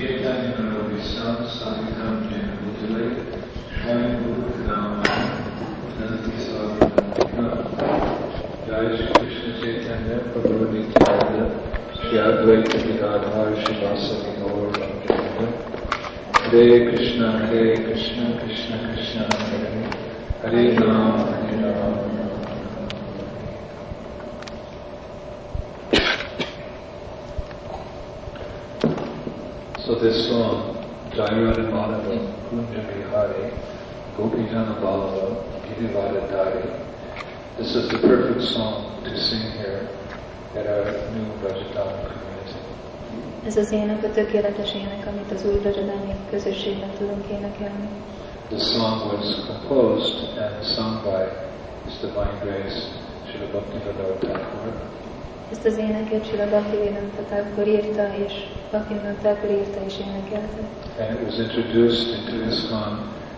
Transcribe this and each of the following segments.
Chaitanya Manavisham Sahitam Jena Bhutale Shwayam Bhutnam Nanti Sarvana Jai Shri Krishna Chaitanya Prabhu Nityananda Shri Advaita Gadadhar Srivasadi Gaur Bhaktivinoda Hare Krishna Krishna Krishna Hare Hare Rama Hare Rama. So this song, Jayarada Madhava, Kunja Vihare, Gopijana Ballava, Girivada Dari, this is the perfect song to sing here at our new Rajadhani community. Ez az ének a tökéletes ének, amit az új Rajadhani közösségben tudunk énekelni. This song was composed and sung by His Divine Grace, Srila Bhaktivinoda Thakur. Ezt az éneket Srila Bhaktivinoda Thakur írta, és Bhaktivinoda Thakur írta és énekelte. And it was introduced into ISKCON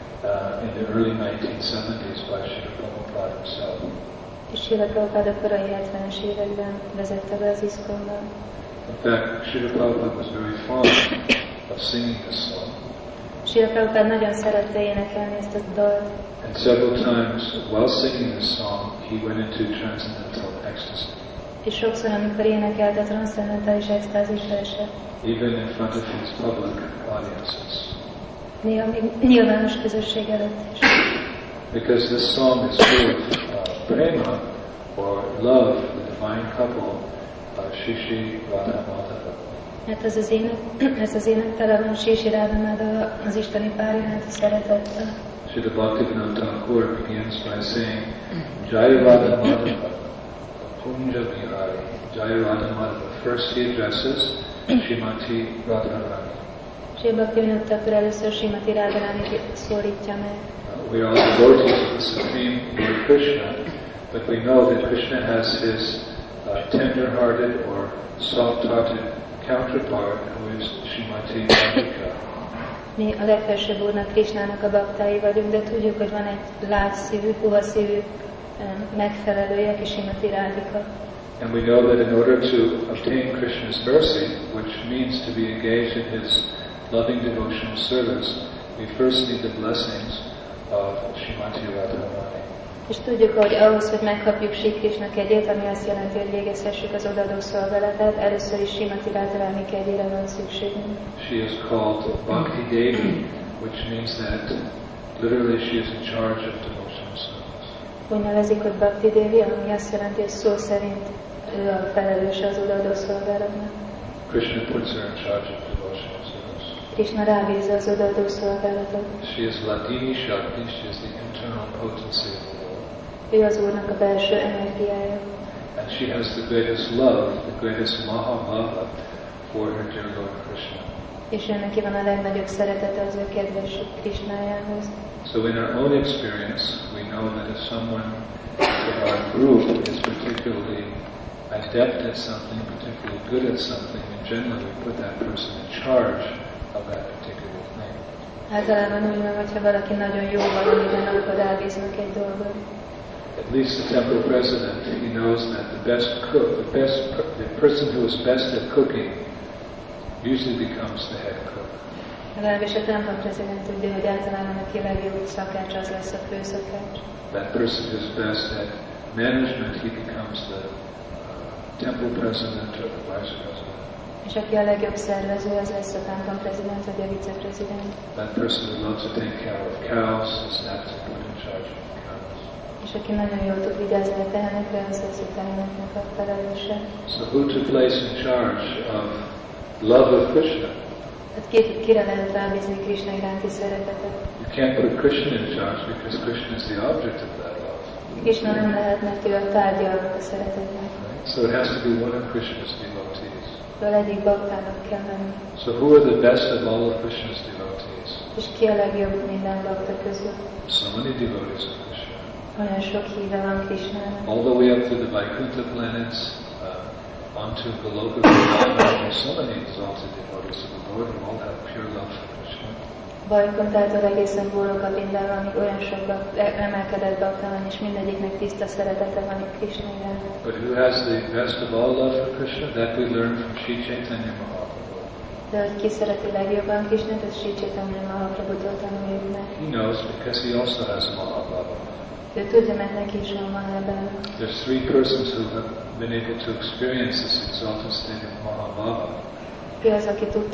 in the early 1970s by Srila Prabhupada himself. És Srila Prabhupada korai 70-es években vezette be az ISKCON-ba. In fact, Srila Prabhupada was very fond of singing this song. Srila Prabhupada nagyon szerette énekelni ezt a dalt. And several times while singing this song, he went into transcendental ecstasy. És sokszor, amikor énekelte, transzcendentális extázisra esett. Even in front of his public audiences. Néha még nyilvános közösség előtt is. Because this song is full of prema, or love, the divine couple, Shri Shri Radha Madhava. Hát ez az ének tele van Shri Shri Radha Madhava, az isteni pár iránti szeretettel. Srila Bhaktivinoda Thakur begins by saying, Jai Radha Madhava, Kunja Vihari, Jai Radha Madhava. First he addresses Srimati Radharani. Sri Bhaktivinoda Thakur először Srimati Radharani szólítja meg. We are all devotees of the Supreme Lord Krishna, but we know that Krishna has his tender-hearted or soft-hearted counterpart, who is Srimati Radhika. Mi a legfelsőbb úrnak, Krishnának a baktái vagyunk, de tudjuk, hogy van egy lágyszívű, puha szívű megfelelője, aki Srimati Radhika. And we know that in order to obtain Krishna's mercy, which means to be engaged in his loving devotional service, we first need the blessings of Srimati Radharani. És tudjuk, hogy ahhoz, hogy megkapjuk Sri Krishna kegyét, ami azt jelenti, hogy végezhessük az odaadó szolgálatát, először is Srimati Radharani kegyére van szükségünk. She is called Bhakti Devi, which means that literally she is in charge of devotional service. Úgy nevezik, hogy Bhakti Devi, ami azt jelenti, hogy szó szerint ő a felelőse az odaadó szolgálatnak. Krishna puts her in charge of devotional service. Krishna rábízza az odaadó szolgálatot. She is Ladini Shakti, she is the internal potency of the Lord. Ő az Úrnak a belső energiája. And she has the greatest love, the greatest mahabhava for her dear Lord Krishna. És ő neki van a legnagyobb szeretete az ő kedves Krishnájához. So in our own experience, we know that if someone in our group is particularly adept at something, particularly good at something, and generally we put that person in charge of that particular thing. Általában úgy van, hogyha valaki nagyon jó valamiben, akkor rábíznak egy dolgot. At least the temple president, he knows that the best cook, the person who is best at cooking usually becomes the head cook. Legalábbis a templom prezident tudja, hogy általában aki legjobb szakács, az lesz a főszakács. That person who is best at management, he becomes the temple president or the vice president. És aki a legjobb szervező, az lesz a templom prezident vagy a viceprezident. That person who loves to take care of cows is apt to put in charge of the cows. És aki nagyon jól tud vigyázni a tehenekre, az lesz a teheneknek a felelőse. So who to place in charge of love of Krishna? Hát kire lehet rábízni Krishna iránti szeretetet? You can't put Krishna in charge because Krishna is the object of that love. Krishna nem lehet, mert ő a tárgya a szeretetnek. So it has to be one of Krishna's devotees. Egyik baktának kell lenni. So who are the best of all of Krishna's devotees? És ki a legjobb minden bakta közül? So many devotees of Krishna. Olyan sok híve van Krishnának. All the way up to the Vaikuntha planets, onto Goloka Vrindavan, there are so many exalted devotees of the Lord who all have pure love for Krishna. Vaikuntától egészen Goloka Vrindavánig olyan sok emelkedett bakta van, és mindegyiknek tiszta szeretete van itt Krishna iránt. But who has the best of all love for Krishna? That we learn from Sri Chaitanya Mahaprabhu. De hogy ki szereti legjobban Krisnát, ez Sri Chaitanya Mahaprabhutól tanuljuk meg. He knows because he also has Mahabhava. Ő tudja, mert neki is van Mahabhava. There's three persons who have been able to experience this exalted state of Mahabhava. Ő az,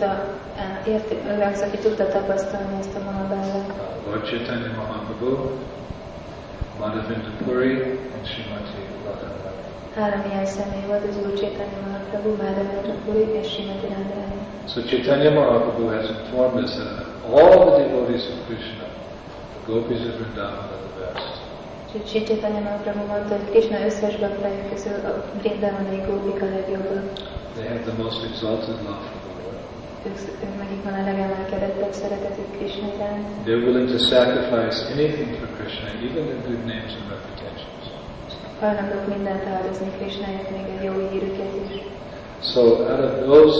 aki tudta tapasztalni ezt a Mahabhavát. Lord Chaitanya Mahaprabhu, Madhavinda Puri, and Srimati Radharani. Három ilyen személy volt, az Úr Chaitanya Mahaprabhu, Madhavinda Puri és Srimati Radharani. So Chaitanya Mahaprabhu has informed us that of all the devotees of Krishna, the gopis of Vrindavan are the best. Sri Chaitanya Mahaprabhu mondta, hogy Krishna összes baktája közül a Vrindavani gópik a legjobbak. They have the most exalted love for the Lord. Ők nekik van a legemelkedettebb szeretetük Krishna iránt. They're willing to sacrifice anything for Krishna, even their good names and reputations. Hajlandók mindent áldozni Krishnáért, még a jó hírüket is. So out of those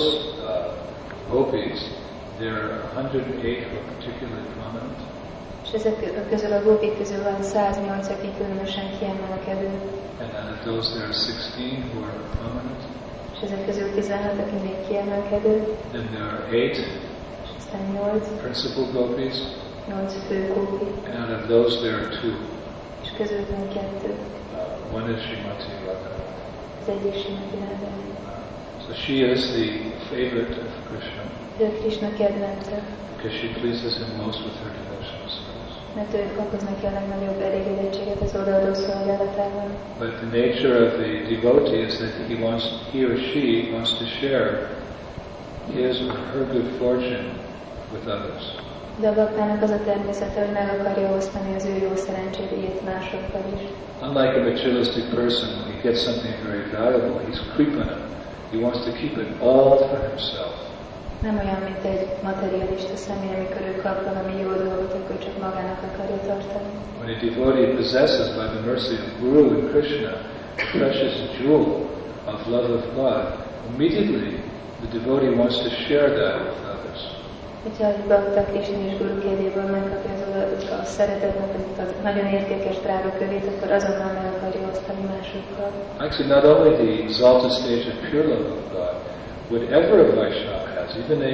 gopis, there are 108 who are particularly prominent. És ezek közül a gópik közül van 108, aki különösen kiemelkedő. And out of those, there are 16 who are prominent. És ezek közül 16, aki még kiemelkedő. Then there are 8 És aztán 8 principal gopis. fő gópi. And out of those, there are 2. És közül van 2. One is Srimati Radharani. Az egyik Srimati Radharani. So she is the favorite of Krishna Ő Krishna kedvence, because she pleases him most with her devotional service. mert ő okoz neki a legnagyobb elégedettséget az odaadó szolgálatában. But the nature of the devotee is that he or she wants to share his or her good fortune with others. De a baktának az a természete, hogy meg akarja osztani az ő jó szerencséjét másokkal is. Unlike a materialistic person, when he gets something very valuable, he's creeping it. He wants to keep it all for himself. Nem olyan, mint egy materialista személy, amikor ő kap valami jó dolgot, akkor csak magának akarja tartani. When a devotee possesses, by the mercy of Guru and Krishna, the precious jewel of love of God, immediately the devotee wants to share that with others. Hogyha egy bakta Krishna és Guru kérjéből megkapja a szeretetnek a nagyon értékes drága kövét, akkor azonnal meg akarja osztani másokkal. Actually, not only the exalted stage of pure love of God, whatever a Vaishnava has, even a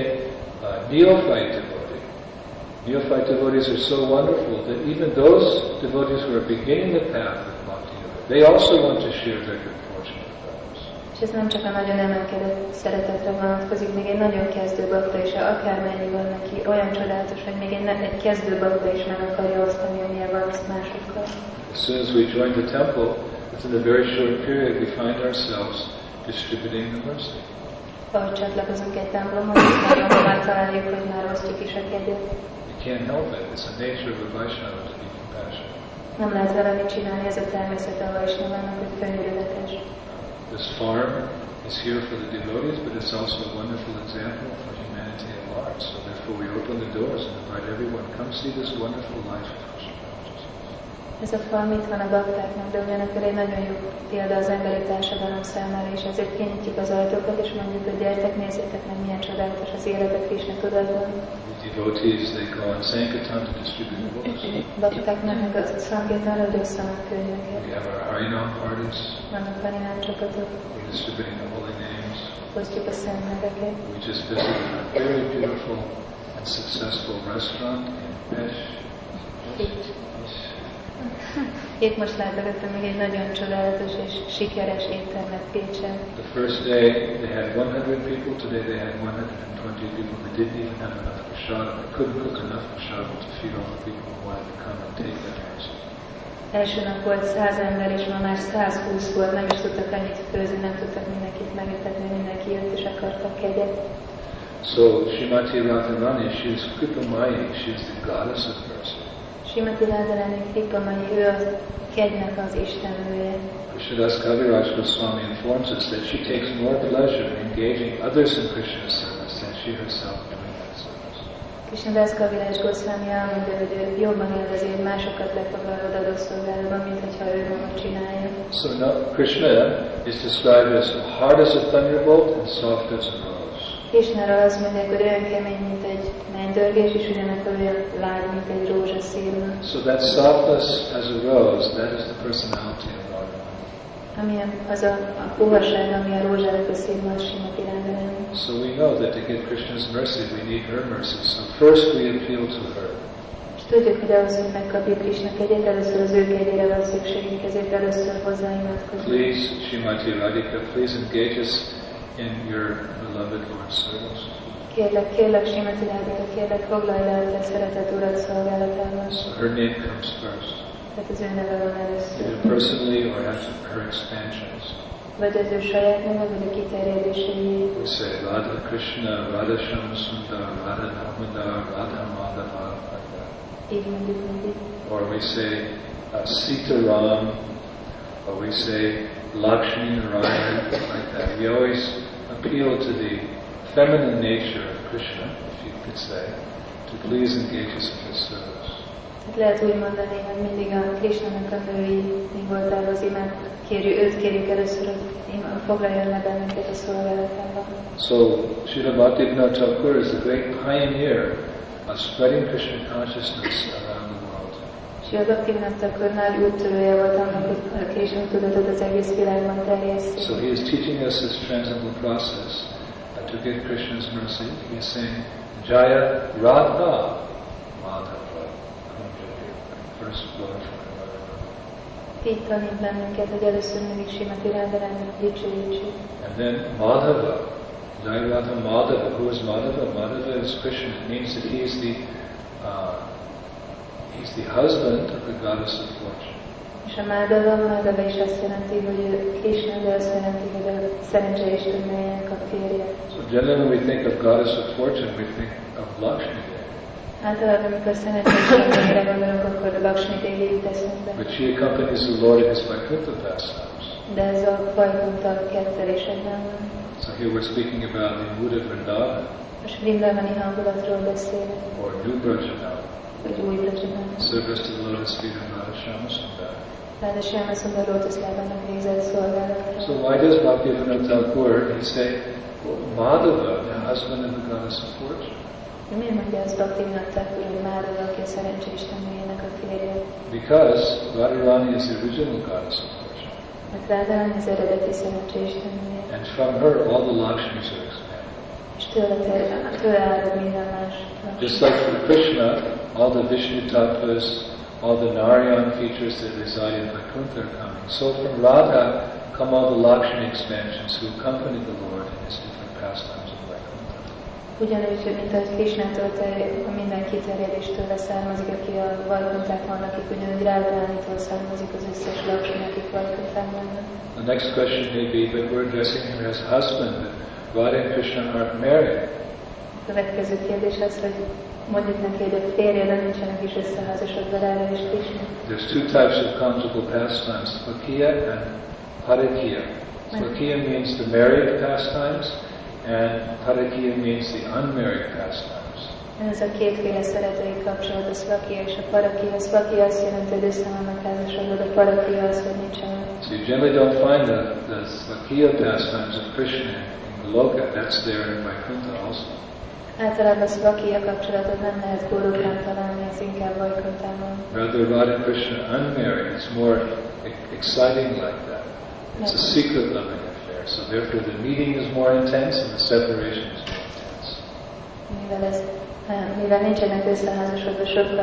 neophyte devotee. Neophyte devotees are so wonderful that even those devotees who are beginning the path of Bhakti Yoga, they also want to share their good fortune with others. És ez nem csak a nagyon emelkedett szeretetre vonatkozik, még egy nagyon kezdő bakta is, akármennyi van neki, olyan csodálatos, hogy még egy kezdő bakta is meg akarja osztani, amilyen van azt másokkal. As soon as we join the temple, within a very short period, we find ourselves distributing the mercy. Ahogy csatlakozunk egy templomhoz, aztán már találjuk, hogy már osztjuk is a kegyet. You can't help it. It's the nature of a Vaishnava to be compassionate. Nem lehet vele mit csinálni, ez a természet a Vaisnavának, hogy könyörületes. This farm is here for the devotees, but it's also a wonderful example for humanity at large. So therefore we open the doors and invite everyone, come see this wonderful life of Krishna consciousness. Ez a farm itt van a baktáknak, de ugyanakkor egy nagyon jó példa az emberi társadalom számára, és ezért kinyitjuk az ajtókat, és mondjuk, hogy gyertek, nézzétek meg, milyen csodálatos az életet Krishna tudatban. The devotees, they go on Sankirtan to distribute the books. Bakták mennek a Sankirtanra, hogy osszanak könyveket. We have our Harinam parties. Vannak Harinam csapatok. We're distributing the holy names. Osztjuk a szent neveket. We just visited a very beautiful and successful restaurant in Pesh. Épp most látogattam még egy nagyon csodálatos és sikeres éttermet Pécsen. The first day they had 100 people, today they had 120 people. They didn't even have enough prasad. They couldn't cook enough prasad to feed all the people who wanted to come and take that mercy. Első nap volt 100 ember, és ma már 120 volt, nem is tudtak annyit főzni, nem tudtak mindenkit megetetni, mindenki jött és akartak kegyet. So Srimati Radharani, she is Kripamayi, she is the goddess of mercy. Srimati Radharani Kripamayi, ő a kegynek az istenője. Krishnadas Kaviraj Goswami informs us that she takes more pleasure in engaging others in Krishna's service than she herself doing that service. Krishnadas Kaviraj Goswami elmondja, hogy ő jobban élvezi, hogy másokat lefoglal odaadó szolgálatban, mint hogyha ő maga csinálja. So now Krishna is described as hard as a thunderbolt and soft as a rose. Krishnáról azt mondják, hogy olyan kemény, mint egy mennydörgés, és ugyanakkor olyan lágy, mint egy rózsaszírma. So that softness as a rose, that is the personality of Radharani. Amilyen az a puhaság, ami a rózsának a színben a Srimati Radharani. So we know that to get Krishna's mercy, we need her mercy. So first we appeal to her. És tudjuk, hogy ahhoz, hogy megkapjuk Krishna kegyét, először az ő kegyére van szükségünk, ezért először hozzá imádkozunk. Please, Srimati Radhika, please engage us in your beloved Lord's service. Kérlek, Srimati Radhika, kérlek, foglalj le a te szeretett Urad szolgálatában. So her name comes first. Tehát az ő neve van először. Either personally or as her expansions. Vagy az ő saját neve, vagy a kiterjedései. We say Radha Krishna, Radha Shamsundar, Radha Damodar, Radha Madhava, like that. Így mondjuk mindig. Or we say Sita Ram, or we say Lakshmi Narayan, like that. We always appeal to the feminine nature of Krishna, if you could say, to please engage us in his service. Lehet úgy mondani, hogy mindig a Krishnának a női mi voltához őt kérjük először, hogy foglaljon le bennünket a szolgálatában. So, Srila Bhaktivinoda Thakur is a great pioneer of spreading Krishna consciousness around the world. Srila Bhaktivinoda Thakur nagy úttörője volt annak, hogy a Krishna tudatot az egész világban terjeszti. So he is teaching us this transcendental process to get Krishna's mercy. He is saying, Jaya Radha Madhava. First glory for Így tanít bennünket, hogy először mindig Srimati Radharani dicsőítsük. And then Madhava, Jai Radha Madhava. Who is Madhava? Madhava is Krishna. It means that he's the husband of the goddess of fortune. És a Madhava is azt jelenti, hogy Krishna, de azt jelenti, hogy a szerencseistennőjének a férje. So generally when we think of goddess of fortune, we think of Lakshmi Devi. Általában, amikor szerencseistennőjére gondolunk, akkor a Lakshmi Devi jut eszünkbe. But she accompanies the Lord in his Vaikuntha pastimes. De ez a Vaikuntha kettelésekben van. So here we're speaking about the mood of Vrindavan, Most Vrindavani hangulatról beszélünk, or New Brajanavan, vagy új Brajanavan. service to the lotus feet of Radha Syamasundar. Ráda Syamasundar lótuszlábának végzett szolgálatra. So why does Bhaktivinoda Thakur say, Madhava, the husband of the goddess of fortune? De miért mondja azt Bhaktivinoda Thakur, hogy Madhava, aki a szerencseistennőjének a férje? Because Radharani is the original goddess of fortune. Mert Radharani az eredeti szerencseistennője. And from her all the Lakshmis are expanded. És tőle árad minden más. Just like for Krishna, all the Vishnu tattvas, all the Narayan features that reside in Vaikuntha are coming. So from Radha come all the Lakshmi expansions who accompany the Lord in his different pastimes of Vaikuntha. Ugyanúgy, mint ahogy Krishnától minden kiterjedéstől származik, aki a Vajkuntában vannak, akik ugyanúgy Radharánitól származik az összes Lakshmi, akik Vajkuntában vannak. The next question may be, but we're addressing him as husband, but Radha and Krishna aren't married. A következő kérdés az, hogy mondjuk neki, hogy a férje, de nincsenek is összeházasodva Radha és Krishna. There's two types of conjugal pastimes, Swakiya and Parakiya. Swakiya means the married pastimes, and Parakiya means the unmarried pastimes. Ez a kétféle szeretői kapcsolat, a Swakiya és a Parakiya. A Swakiya azt jelenti, hogy össze vannak házasodva, de Parakiya az, hogy nincsenek. So you generally don't find the Swakiya pastimes of Krishna in Goloka. That's there in Vaikuntha also. Általában a Swakiya kapcsolatot nem lehet Gólokán találni, ez inkább Vajkuntában. Rather, Radha and Krishna unmarried, it's more exciting like that. It's a secret loving affair. So therefore the meeting is more intense and the separation is more intense. Mivel nincsenek összeházasodva,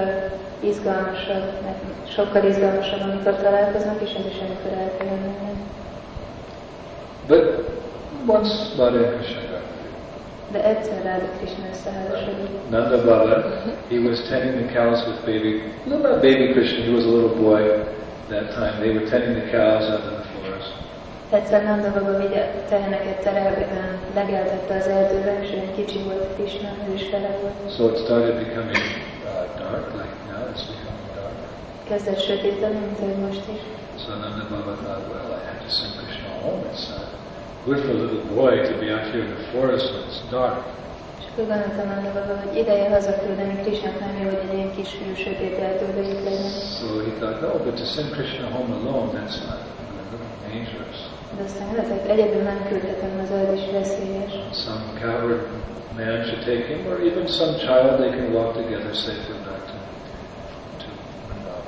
sokkal izgalmasabb, amikor találkoznak, és ez is amikor el kell jönni. But once Radha and Krishna got married, de egyszer Radha Krishna összeházasodott. Nanda Baba, he was tending the cows with not baby Krishna, he was a little boy that time. They were tending the cows out in the forest. Egyszer Nanda Baba teheneket terelgetően legeltette az erdőben, és olyan kicsi volt Krishna, ő is vele volt. So it started becoming dark, like now it's becoming dark. Kezdett sötétedni, mint ahogy most is. So Nanda Baba thought, well, I have to send Krishna home. It's good for a little boy to be out here in the forest when it's dark. És akkor gondoltam Nanda Baba, hogy ideje hazaküldeni Krishnát, nem jó, hogy egy ilyen kisfiú sötét erdőbe itt legyen. So he thought, no, but to send Krishna home alone, that's not dangerous. De aztán lehet, egyedül nem küldhetem, az az is veszélyes. Some coward man should take him, or even some child, they can walk together safely back to Vrindavan.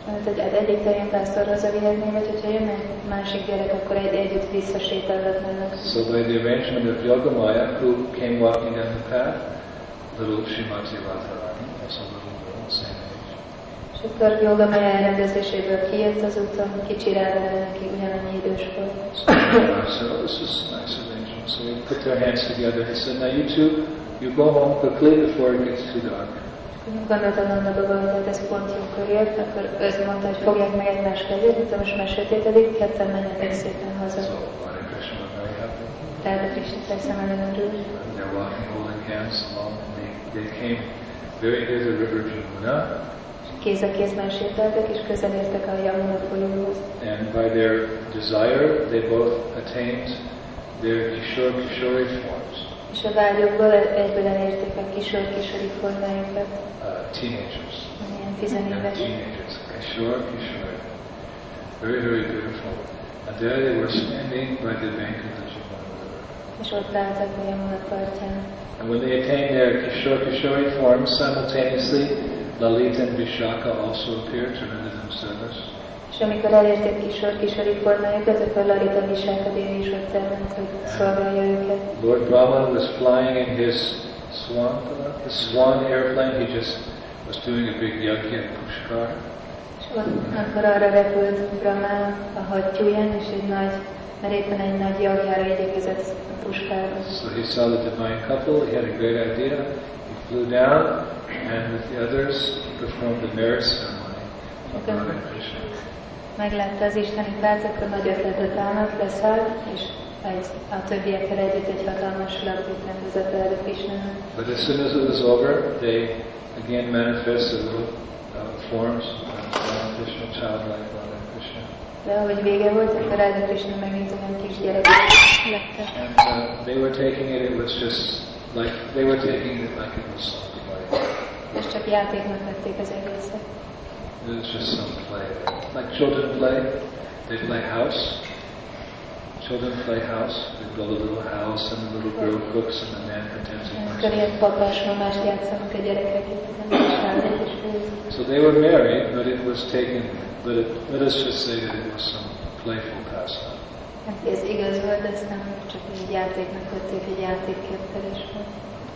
Mert hogy egyik terén pásztor hazavihetné, vagy hogyha jönne egy másik gyerek, akkor együtt visszasétálhatnának. So by the arrangement of Yogamaya, who came walking down the path, little Srimati Radharani, also a little girl, same age. És akkor Yogamaya elrendezéséből kijött az úton, kicsi Radharani, aki ugyanannyi idős volt. So oh, this is a nice arrangement. So we put their hands together. He said, now you two, you go home quickly before it gets too dark. Gondoltam Nandaban, hogy ez pont jókor jött, akkor ő mondta, hogy fogják meg egymás kezét, itt most már sötétedik, ketten menjetek szépen haza. So Radha Krishna was very happy. Radha Krishna persze nagyon örült. They're walking, holding hands along, and they came very near the river Jamuna. Kéz a kézben sétáltak, és közel értek a Yamuna folyóhoz. And by their desire, they both attained their Kishori forms. És a vágyokból egyből elérték a kisori formájukat. Teenagers. Ilyen tizenéves. Teenagers. Kishori. Very, very beautiful. And there they were standing by the bank of the Jamuna River. És ott álltak a Yamuna partján. And when they attained their Kishori forms, simultaneously, Lalita and Vishaka also appeared to render them service. És amikor elérték kisori formájukat, akkor Lalita Vishaka Devi is ott elment, hogy szolgálja őket. Lord Brahma was flying in his swan airplane. He just was doing a big yajna at Pushkar. És akkor arra repült Brahma a hattyúján, és mert éppen egy nagy jagjára igyekezett a Pushkarba. So he saw the divine couple. He had a great idea. He flew down, and with the others, he performed the marriage ceremony of Radha and Krishna. Meglátta az isteni párt, akkor nagy ötletet állnak, leszállt, és a többiekkel együtt egy hatalmas lakót rendezett Radha Krishnának. But as soon as it was over, they again manifested little forms of Radha Krishna, childlike Radha Krishna. De ahogy vége volt, akkor Radha Krishna megint olyan kis gyerekek lettek. And they were taking it was just like, they were taking it like it was some play. És csak játéknak vették az egészet. It was just some play. Like children play, they play house. Children play house. They build a little house and the little girl cooks and the man pretends he Akkor ilyen papás-mamást játszanak a gyerekek itt, So they were married, but it was taken, let us just say that it was some playful pastime. Ez igaz volt, de ezt nem csak egy játéknak vették, egy játékképtelés volt.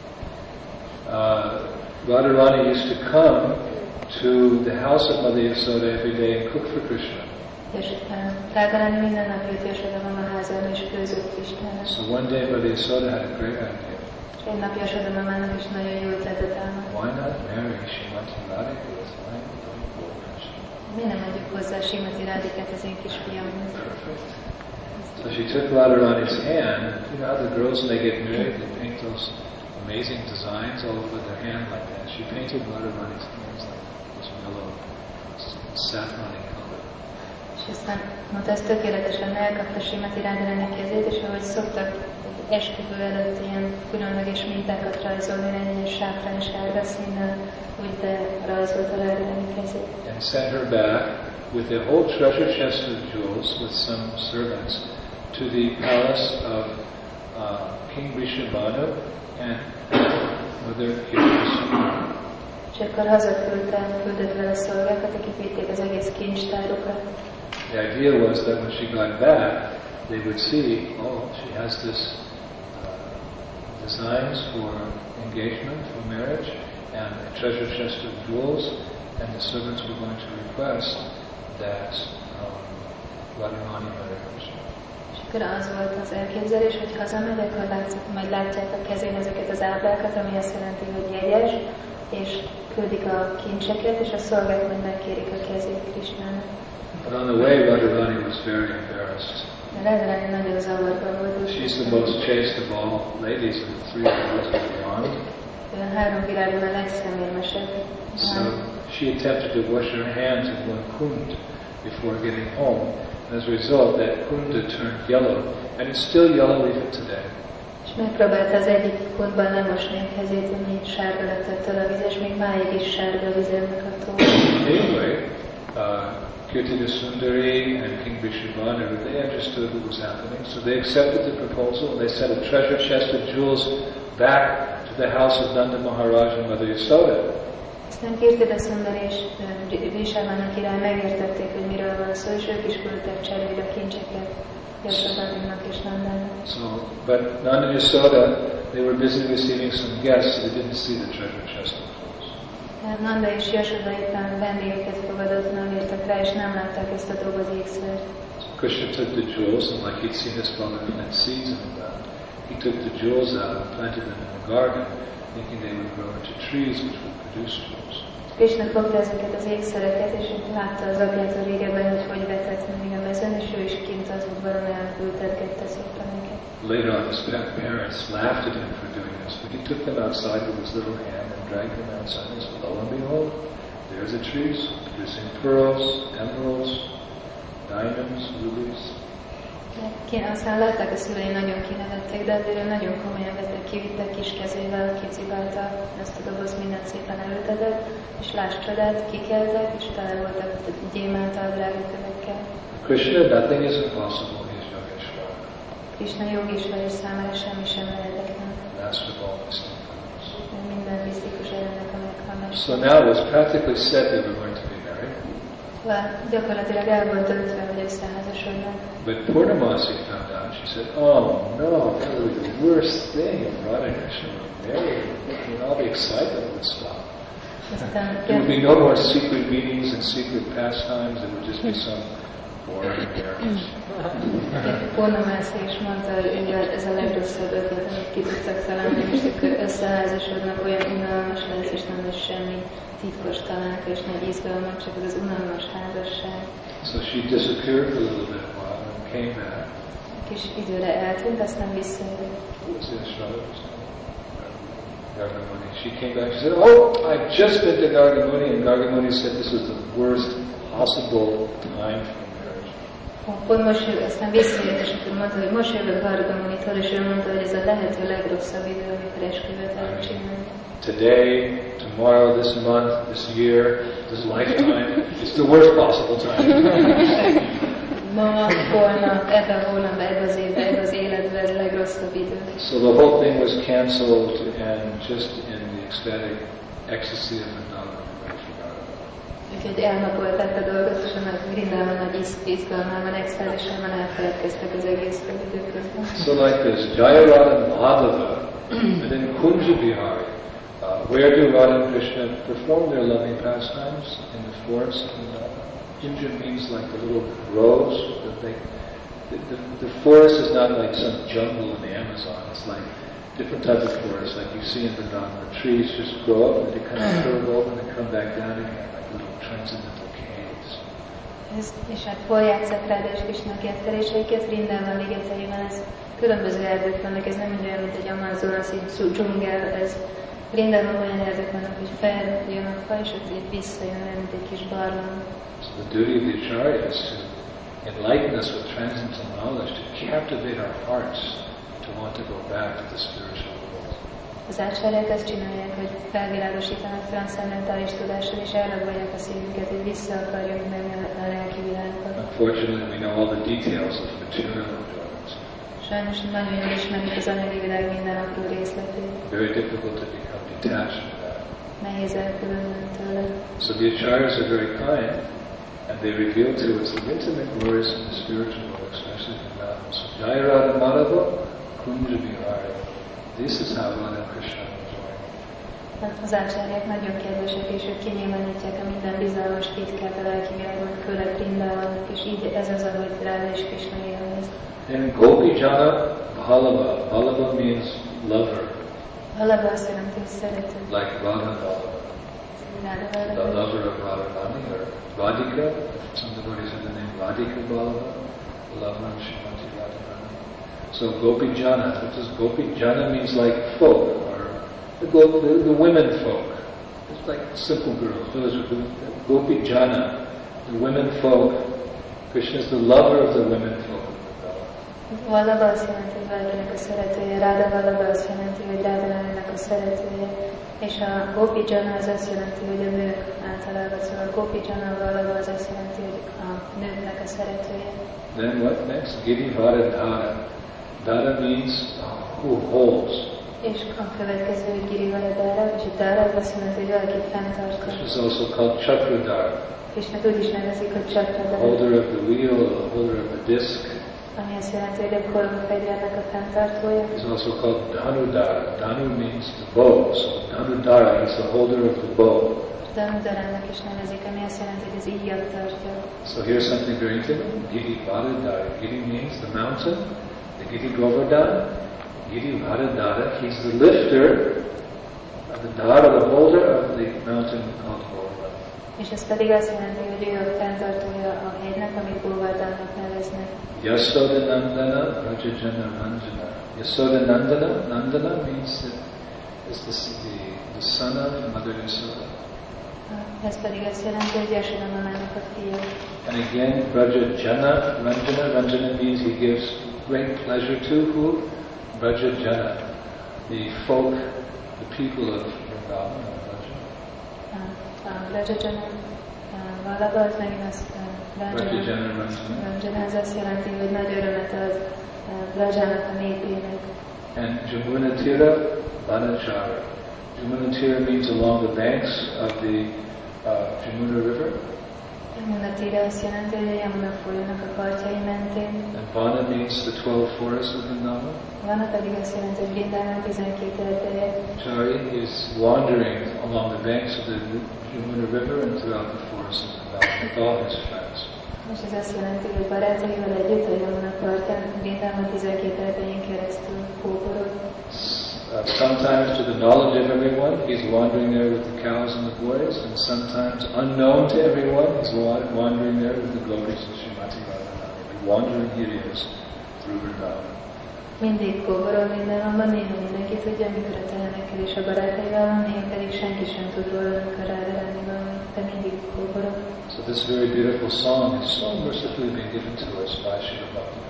Radharani used to come to the house of Mother Yasoda every day and cook for Krishna. És Radharani minden nap jött Yasoda mama házába és főzött Krishnának. So one day Mother Yasoda had a great idea. És egy nap Yasoda mamának is nagyon jó ötletet állnak. Why not marry Srimati Radhika with my little Krishna? Miért nem adjuk hozzá Srimati Radhikát az én kisfiamnak? Perfect. So she took Radharani's hand. You know how the girls, when they get married, they paint those amazing designs all over their hand like that. She painted Radharani's hands like this yellow, saffron color. És aztán mondta, ez tökéletesen elkapta Srimati Radharani kezét, és ahogy szoktak esküvő előtt ilyen különleges mintákat rajzolni, egy sáfrán és árga színnel, úgy de rajzolta Radharani kezét. And sent her back with a whole treasure chest of jewels with some servants to the palace of King Vrishabhanu and Mother Kirtana. És akkor hazaküldött vele szolgákat, akik vitték az egész kincstárukat. The idea was that when she got back, they would see, oh, she has this designs for engagement, for marriage, and a treasure chest of jewels, and the servants were going to request that Radharani marry Krishna. És akkor az volt az elképzelés, hogy hazamegy, akkor majd látják a kezén ezeket az ábrákat, ami azt jelenti, hogy jegyes, és küldik a kincseket, és a szolgák majd megkérik a kezét Krishnának. But on the way, Radharani was very embarrassed. Radharani nagyon zavarban volt. She's the most chaste of all ladies in the three worlds beyond. A három világon a legszemérmesebb. So she attempted to wash her hands in one kund before getting home. And as a result, that kunda turned yellow, and it's still yellow even today. És megpróbálta az egyik kundban lemosni a kezét, ami sárga lett ettől a víz, és még máig is sárga a vizemnek attól. Anyway, Kirtida Sundari and King Vrishabhanu, they understood what was happening, so they accepted the proposal, and they sent a treasure chest of jewels back to the house of Nanda Maharaj and Mother Yasoda. Aztán Kirtida Sundari és Vrishabhana király megértették, hogy miről van szó, és ők is küldtek cserébe kincseket Yasodhának és Nandának. So, but Nanda and Yasoda, they were busy receiving some guests, so they didn't see the treasure chest of clothes. Tehát Nanda és Yasoda éppen vendégeket fogadott, nem értek rá, és nem látták ezt a doboz ékszert. So Krishna took the jewels, and like he'd seen his father plant seeds in the ground, he took the jewels out and planted them in the garden, thinking they would grow into trees which would produce jewels. Krishna fogta ezeket az ékszereket, és látta az apjától régebben, hogy vetett még a mezőn, és ő is kint az udvaron elültetgette szépen őket. Later on, his parents laughed at him for doing this, but he took them outside with his little hand and dragged them outside, and said, lo and behold, there's a tree producing pearls, emeralds, diamonds, rubies. Aztán látták a szülei, nagyon kinevették, de azért ő nagyon komolyan vette, kivittek kis kezével, kicibálta ezt a doboz, mindent szépen elültetett, és láss csodát, kikeltek, és tele voltak gyémántal, drágakövekkel. Krishna, nothing is impossible, he is Yogeshwara. Krishna Yogeshwara és számára semmi sem lehetetlen. Master of all mystic forms. Minden misztikus erőnek a meghallása. So now it was practically said they were going to be married. Gyakorlatilag el volt döntve, hogy összeházasodnak. But Purnamasi found out. She said, "Oh no, that would be the worst thing if Radha and Krishna were married. All the excitement would stop. There would be no more secret meetings and secret pastimes. It would just be some boring marriage." Purnamasi is mondta, hogy ez a legrosszabb ötlet, amit ki tudtak találni, és akkor összeházasodnak, olyan unalmas lesz, és nem lesz semmi titkos találka, és nagy izgalmak, csak az unalmas házasság. So she disappeared for a little bit while and came back. Kis időre eltűnt, aztán visszajött. Gargamuni. She came back. She said, "Oh, I've just been to Gargamuni," and Gargamuni said this was the worst possible time for marriage. Pont most aztán visszajött, és akkor mondta, hogy most jövök Gargamunitól, és ő mondta, hogy ez a lehető legrosszabb idő, amikor esküvőt elcsinálni. Today, tomorrow, this month, this year, this lifetime, it's the worst possible time. Ma, holnap, ebben a hónapban, ebben az évben, ebben az életben ez a legrosszabb idő. So the whole thing was cancelled, and just in the ecstatic ecstasy of Vrindavan, everybody forgot about it. Úgyhogy elnapolták a dolgot, és annak Vrindában nagy izgalmában, extázisában elfeledkeztek az egész időközben. So like this, Jaya Radha and Madhava, and then Kunja Vihari. Where do Radha and Krishna perform their loving pastimes? In the forest of Vrindavan. Kunja means like the little groves. The forest is not like some jungle in the Amazon. It's like different type of forest, like you see in Vrindavan, where trees just grow up and they kind of curve over and they come back down again, like little transcendental caves. És hát hol játszák Ráda és Krishna ketteléseiket? Vrindában ligeteiben, ez különböző erdők vannak, ez nem olyan, mint egy Amazonas, így dzsungel, ez Vrindában olyan erdők vannak, hogy feljön a fa, és ott így visszajön, mint egy kis barlang. So the duty of the Acharya is to enlighten us with transcendental knowledge, to captivate our hearts, to want to go back to the spiritual world. Az ácsárják azt csinálják, hogy felvilágosítanak transzcendentális tudással, és elrabolják a szívünket, hogy vissza akarjunk menni a lelki világba. Unfortunately, we know all the details of material enjoyments. Sajnos nagyon jól ismerjük az anyagi világ minden apró részletét. Very difficult to become detached from that. Nehéz elkülönülni tőle. So the Acharyas are very kind, and they reveal to us the intimate glories of the spiritual world, especially from that. So Jaya Radha Madhava, Kunja Vihari. This is how Radha and Krishna enjoy. Az ácsárják nagyon kedvesek, és ők kinyilvánítják a minden bizalmas titkát a lelki világban, főleg Vrindában, és így ez az, ahogy Ráda és Krishna élvez. Then Gopi Jana Bhalava. Bhalava means lover. Bhalava azt jelenti, hogy szerető. Like Radha Bhalava. The lover of Radharani or Radhika. Some devotees have the name Radhika Bhalava, the lover of Srimati Radharani. So Gopi Jana. What does Gopi Jana means? Like folk, or the women folk. It's like simple girls. Those are the Gopi Jana, the women folk. Krishna is the lover of the women folk. Vallabha azt jelenti, hogy valakinek a szeretője, Ráda Vallabha azt jelenti, hogy Rádának a szeretője, és a Gopi Jana az azt jelenti, hogy a nők általában, szóval a Gopi Jana Vallabha az azt jelenti, hogy a nőknek a szeretője. Then what next? Girivara Dhara. Dhara means who holds. És a következő, hogy Girivara Dhara, és a Dhara azt jelenti, hogy valakit fenntartja. This is also called Chakradhara. Krisnát úgy is nevezik, hogy Csakradhara. Holder of the wheel, the holder of the disc. Ami azt jelenti, hogy a korongfegyvernek a fenntartója. He's also called Dhanudhara. Dhanu means the bow, so Dhanudhara is the holder of the bow. Dhanudharának is nevezik, ami azt jelenti, hogy az íjat tartja. So here's something very interesting. Giri Varadhara. Giri means the mountain. The Giri Govardhan. Giri Varadhara. He's the lifter of the Dhara, the holder of the mountain called Govardhan. És ez pedig azt jelenti, hogy ő a fenntartója a hegynek, amit Govardhannak neveznek. Yasoda Nandana Rajajana Ranjana. Yasoda Nandana. Nandana means that is the son of Mother Yasoda. Ez pedig azt jelenti, hogy Yasoda mamának a fia. And again, Rajajana Ranjana. Ranjana means he gives great pleasure to who? Rajajana, the folk, the people of Vrindavan. Rajajana valaba, az megint azt Ranjana, ez azt jelenti, hogy nagy örömet az Rajának a népének. And Jamuna Tira Vanachara. Jamuna Tira means along the banks of the Jamuna River. Jamuna Tira azt jelenti, hogy a Yamuna folyónak a partjai mentén. And Vana means the 12 forests of Vrindavan. Vana pedig azt jelenti, hogy Vrindavan 12 erdélye. Chari is wandering along the banks of the Jamuna River and throughout the forests of Vrindavan with all his friends. És ez azt jelenti, hogy barátaival együtt a Yamuna partján Vrindavan 12 erdélyén keresztül kóborol. Sometimes to the knowledge of everyone, he's wandering there with the cows and the boys, and sometimes unknown to everyone, he's wandering there with the gopis and Srimati Radharani. Wandering he is through Vrindavan. Mindig kóborol Vrindavanban, néha mindenki tudja, amikor a tehenekkel és a barátaival van, néha pedig senki sem tud róla, amikor Radharani van, de mindig kóborol. So this very beautiful song is so mercifully being given to us by Srila Bhaktivinoda.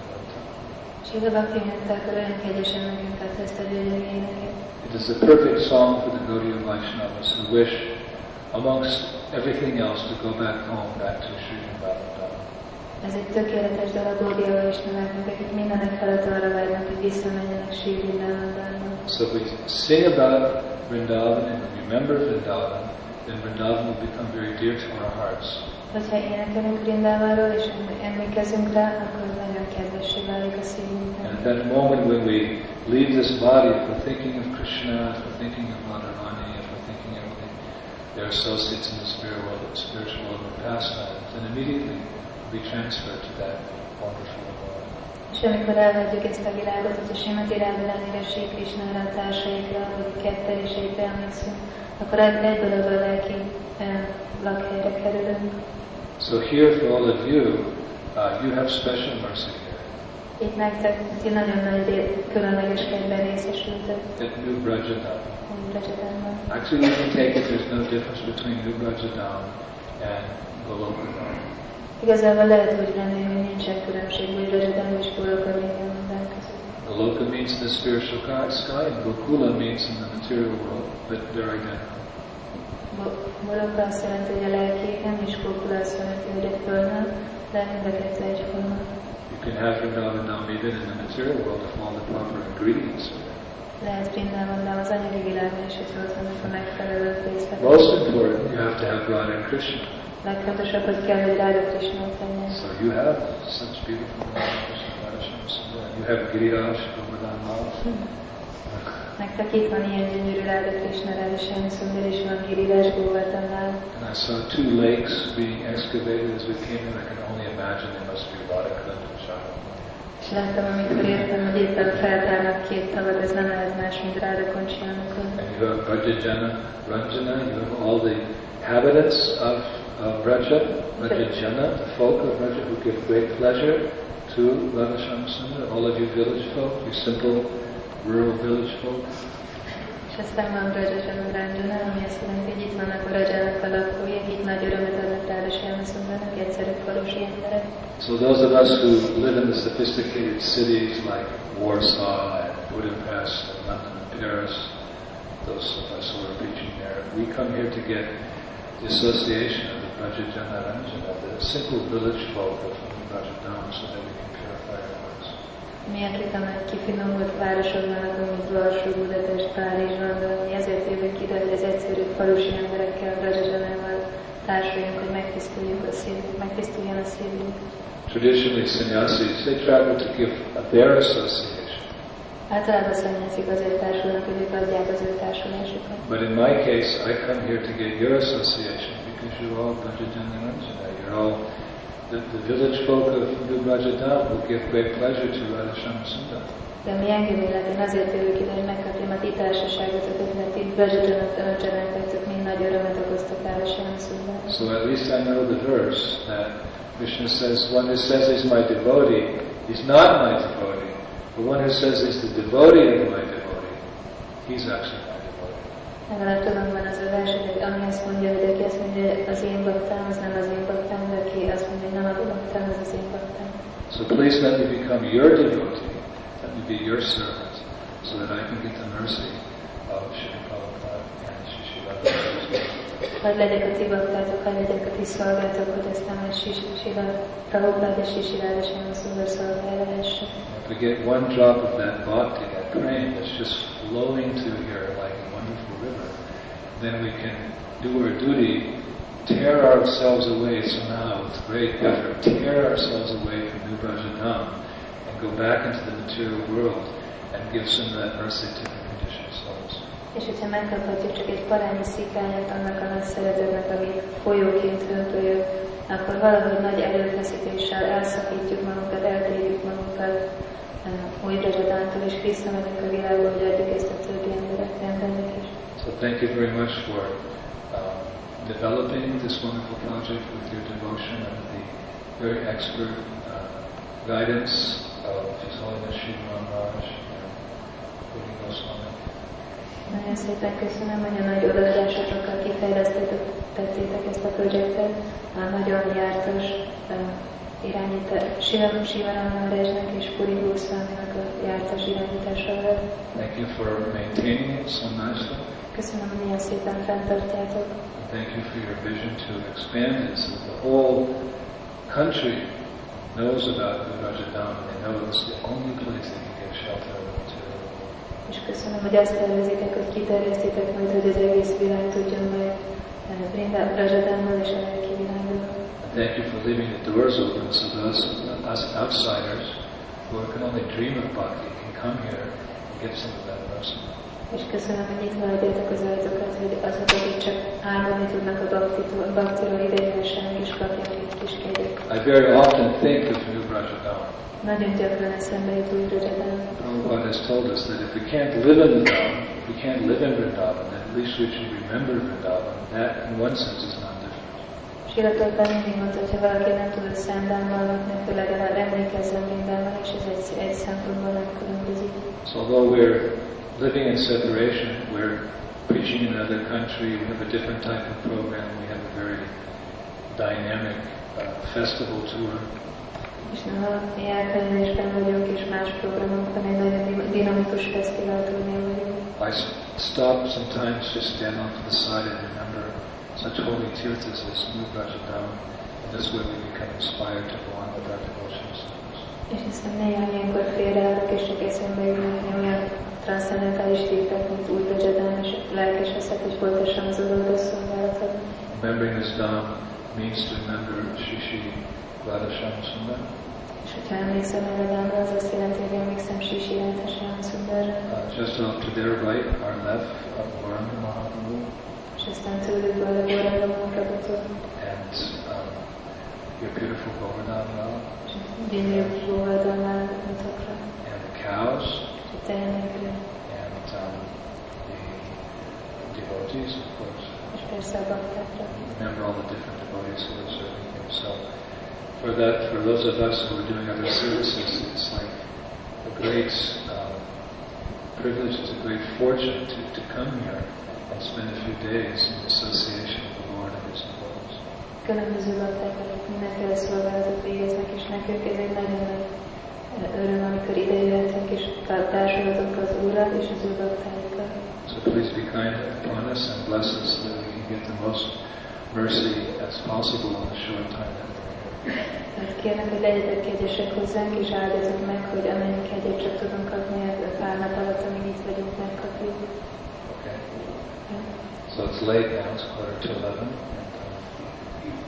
Srila Bhaktivinoda olyan kegyesen nekünk adta ezt a gyönyörű éneket. It is the perfect song for the Gaudiya Vaishnavas who wish, amongst everything else, to go back home, back to Sri Vrindavan. Ez egy tökéletes dal a Gaudiya Vaishnavaknak, akik mindenek felett arra várnak, hogy visszamenjenek Sri Vrindavanba. So if we sing about Vrindavan and remember Vrindavan, then Vrindavan will become very dear to our hearts. Hogyha énekelünk Vrindavanról és emlékezünk rá, akkor nagyon kedvessé válik a szívünknek. And at that moment when we leave this body, if we're thinking of Krishna, if we're thinking of Radharani, if we're thinking of their associates in the spiritual world of pastimes, then immediately we transfer to that wonderful world. És amikor elhagyjuk ezt a világot, hogy a Srimati Radharánira, Sri Krishnára, a társaikra, vagy ketteléseikre emlékszünk, akkor egyből abban a lelki lakhelyre kerülünk. So here for all of you, you have special mercy here. Itt nektek, ti nagyon nagy különleges kegyben részesültök. At New Brajadam. Brajadanban. Actually, you can take it, there's no difference between New Brajadam and Golokadam. Igazából lehet úgy venni, hogy nincsen különbség, hogy Brajadan és Golokadam között. Goloka means in the spiritual sky, and Gokula means in the material world, but they're identical. Goloka azt jelenti, hogy a lelki égen, és Gokula azt jelenti, hogy egy földön, de mind a kettő egyforma. You can have Vrindavan even in the material world if all the proper ingredients are there. Lehet Vrindavanban az anyagi világban is, hogy ott vannak a megfelelő részletek. Most important, you have to have Radha and Krishna. Legfontosabb, hogy kell, hogy Radha Krishna ott legyen. So you have such beautiful Radha Krishna Radha. You have Giriraj, Govardhan Lal. Nektek itt van ilyen gyönyörű Radha Krishna Radha Sundar, és van Giriraj, Govardhan Lal. And I saw 2 lakes being excavated as we came in. I can only imagine there must be Radha and Shaka. És láttam, amikor értem, hogy éppen feltárnak 2 tavat, ez nem lehet más, mint Radha Koncsianukon. And you have Brajajana, Ranjana, you have all the inhabitants of Braja, Brajajana, the folk of Braja who give great pleasure to Radha Sundar, all of you village folk, you simple rural village folk. És aztán van Brajajana, Ranjana, ami azt jelenti, hogy itt vannak a Rajának a lakói, akik nagy örömet adnak Radha Sundarnak, egyszerű falusi emberek. So those of us who live in the sophisticated cities like Warsaw and Budapest and London and Paris, those of us who are preaching there, we come here to get the association of the Brajajana Ranjana, the simple village folk of Brajadam, so that we can purify our hearts. Mi, akik a nagy kifinomult városokban lakunk, mint Varsó, Budapest, Párizs, London, mi ezért jövünk ide, hogy az egyszerű falusi emberekkel, Brajajanával társuljunk, hogy megtisztuljon a szívünk. Traditionally, sannyasis, they travel to give their association. Általában szannyazik azért társulnak, hogy ők adják az ő társulásukat. But in my case, I come here to get your association because you're all Brajajana and Ranjana. You're all the village folk of New Brajadam will give great pleasure to Radhasham Sundar. De mi engem illet, én azért jövök ide, hogy megkapjam a ti társaságotokat, mert ti Brajadana vagytok, mind nagy örömet okoztok Radhasham Sundar. So at least I know the verse that Krishna says, one who says he's my devotee, he's not my devotee. The one who says he's the devotee of my devotee, he's actually my devotee. Legalább tudom van az a vers, hogy ami azt mondja, hogy aki azt mondja, hogy az én baktám, az nem az én baktám, de aki azt mondja, hogy nem a baktám, az az én baktám. So please let me become your devotee, let me be your servant, so that I can get the mercy of Srila Prabhupada and Sri Srila Prabhupada. Hadd legyek a ti baktátok, hadd legyek a ti szolgátok, hogy aztán majd Srila Prabhupada és Sri Radhasham Sundar szolgálja lehessen. If we get one drop of that bhakti, that prema that's just flowing through here like a wonderful river, then we can do our duty, tear ourselves away somehow with great effort, tear ourselves away from New Brajadam and go back into the material world and give some of that mercy to the conditioned souls. És hogyha megkaphatjuk csak egy parányi szikányát annak a nagy szeretetnek, ami folyóként hömpölyög, akkor valahogy nagy erőfeszítéssel elszakítjuk magunkat, eltérjük magunkat új Brajadántól, és visszamegyünk a világba, hogy adjuk ezt a többi embernek is. So thank you very much for developing this wonderful project with your devotion and the very expert guidance of His Holiness Sri Maharaj and Rudy Goswami. Nagyon szépen köszönöm, hogy a nagy odaadásokkal kifejlesztettétek ezt a projektet. A nagyon jártas Sivaram Maharajnak és Puri Goswaminak a jártas irányításával. Thank you for maintaining it so nicely. Köszönöm, hogy ilyen szépen fenntartjátok. Thank you for your vision to expand it so the whole country knows about the Rajadam. They know it's the only place they can get shelter of the material world. És köszönöm, hogy azt tervezitek, hogy kiterjesztitek majd, hogy az egész világ tudjon majd Rajadammal és a lelki világról. Thank you for leaving the doors open so those us outsiders who can only dream of bhakti can come here and get some of that mercy. És köszönöm, hogy nyitva hagyjátok az ajtókat, hogy azok, akik csak álmodni tudnak a bhaktiról idejöhessenek és kapják egy kis kegyet. I very often think of New Brajadam. Nagyon gyakran eszembe jut új Brajadam. Prabhupada has told us that if we can't live in Vrindavan, if we can't live in Vrindavan, then at least we should remember Vrindavan. That, in one sense, is not different. Srila Prabhupada mindig mondta, hogy ha valaki nem tud Szentdámmal lakni, akkor legalább emlékezzen mindenben, és ez egy szempontból nem különbözik. So although we're living in separation, we're preaching in another country, we have a different type of program, we have a very dynamic festival tour. És ha mi elkülönésben vagyunk, és más programok van, egy nagyon dinamikus fesztiválturné vagyunk. I stop sometimes, just stand off to the side and remember such holy tirthas as New Brajadam, and this way we become inspired to go on with our devotional service. És hiszen néha ilyenkor félreállok, és csak eszembe jönnek olyan transzcendentális tétek, mint új Brajadam, és lelkeseszek, hogy folytassam az odaadó szolgálatot. Remembering this Dham means to remember Sri Sri Radhasham Sundar. És hogyha emlékszem erre Dhamra, az azt jelenti, hogy emlékszem Sri Sri Radhasham Sundarra. Just off to their right, our left, Gauranga Mahaprabhu. És aztán tőlük a Gauranga Mahaprabhutól. And your beautiful Govardhan Lal. És gyönyörű Govardhan Lal mutatra. And the cows. És a tehenekre. And the devotees, of course. És persze a baktákra. Remember all the different devotees who are serving him. So for those of us who are doing other services, it's like a great privilege, it's a great fortune to come here and spend a few days in association with the Lord and His devotees. Különböző bakták, akik mindenféle szolgálatot végeznek, és nekünk ez egy nagyon nagy öröm, amikor ide jöhetünk, és társulhatunk az Úrral és az ő baktáikkal. So please be kind upon us and bless us so that we can get the most mercy as possible in the short time that we're here. Kérlek, hogy legyetek kegyesek hozzánk, és áldozzuk meg, hogy amennyi kegyet csak tudunk kapni a pár nap alatt, amíg itt vagyunk, megkapjuk. Okay. So it's late now, it's 11:15.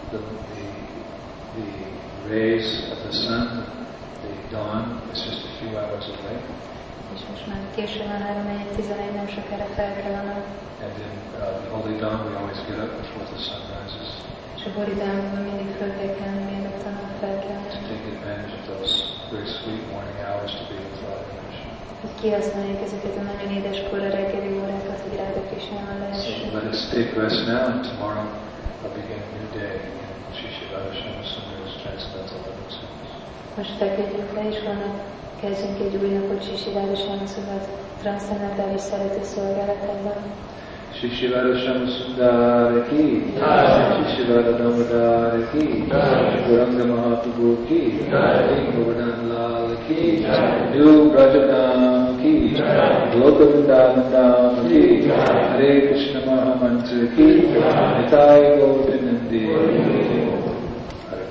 the rays of the sun, the dawn, is just a few hours away. És most már késő van, 3:11, nem sokára fel kell a nap. And in the holy dawn, we always get up before the sun rises. És a Bodhidharmában mindig föl kell kelni, mielőtt a nap felkelne. To take advantage of those very sweet morning hours to be with Radha Krishna. Hogy kihasználjuk ezeket a nagyon édes kora reggeli órákat, hogy Radha Krishnával So lehessünk. let us take rest now, and tomorrow I'll begin a new day in Sri Sri Radha Sundar's Transcendental Living Service. Most feküdjünk le, és holnap kezdjünk egy új napot Sri Sri Radha Sundar's transzcendentális szerető szolgálatában. Shri Shri Radha Sundar ki, Shri Shri Radha Damodar ki, Gauranga Mahaprabhu ki, Govardhan Lal ki, New Brajadam ki, Loka Vrindavan ki, Hare Krishna Mahamantra ki, Nitai Gaudinandi. Hare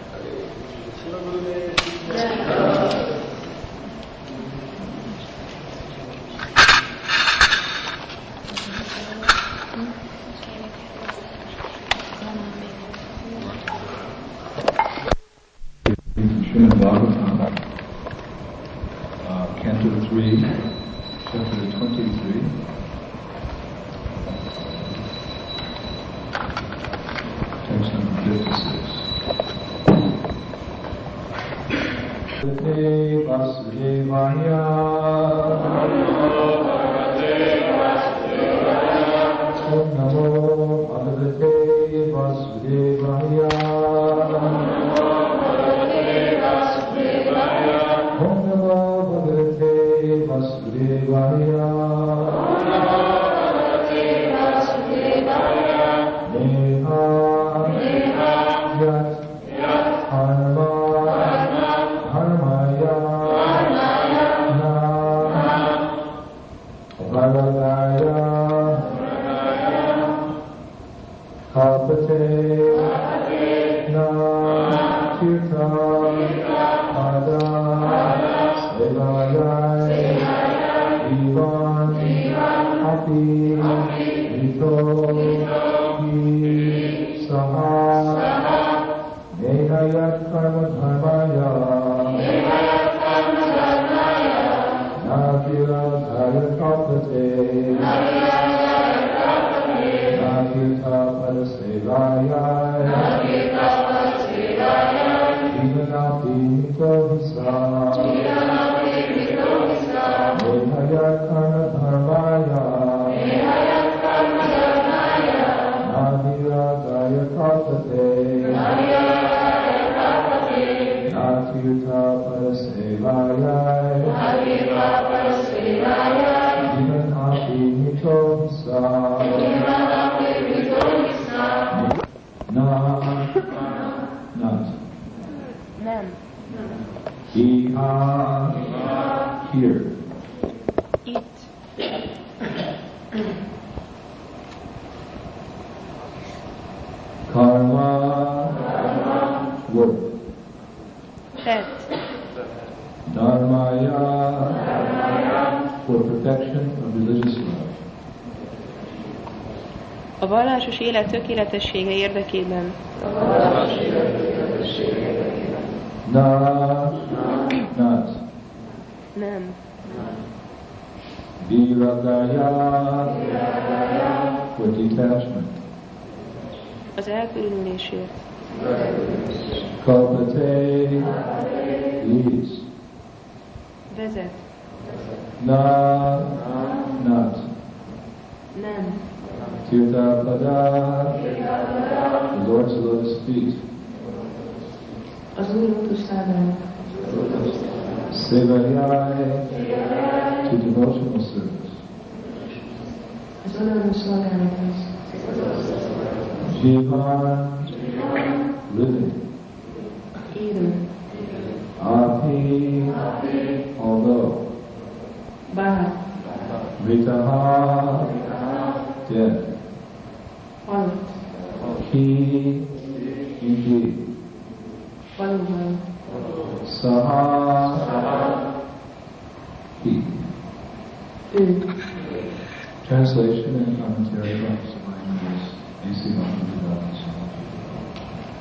Krishna. Srimad Bhagavatam, Canto 3, Chapter 23. Text number 56. Vasudevaya Om Namo Bhagavate Vasudevaya Om Namo Bhagavate Vasudevaya Neha Yat Karma Karmaya Na Bhagavaya Kapate Na Kirta Pada Sevayai Divan Api Vito Ki Saha Nehayat Karma Dharmaya Nakira Dhaya Kapate Nakirta Pada Sevayai Divanapi Mito Visa Nehayat Karma Dharmaya Nadira Daya Kapate Natirtha Parasevayai Divanapi Mito Visa Not Nem. Iha, here. Itt. Karma, work. Tett. Dharmaya, for protection of religious life. A vallásos élet tökéletessége érdekében. Not. Nem. Viradaya, for detachment. Az elkülönülésért. Kalpate, leads. Vezet. Not. Nem. Tirthapada, the Lord's lotus feet. Az új lótuszlábán. Sevayai, to devotional service. Az odaadó szolgálathoz. Jivan, living. Élő. Api, although. Bár. Vritaha, dead. Halott. Ki, indeed. Valóban. Saha, he. Ő. Translation and commentary by His A.C. Bhaktivedanta Swami.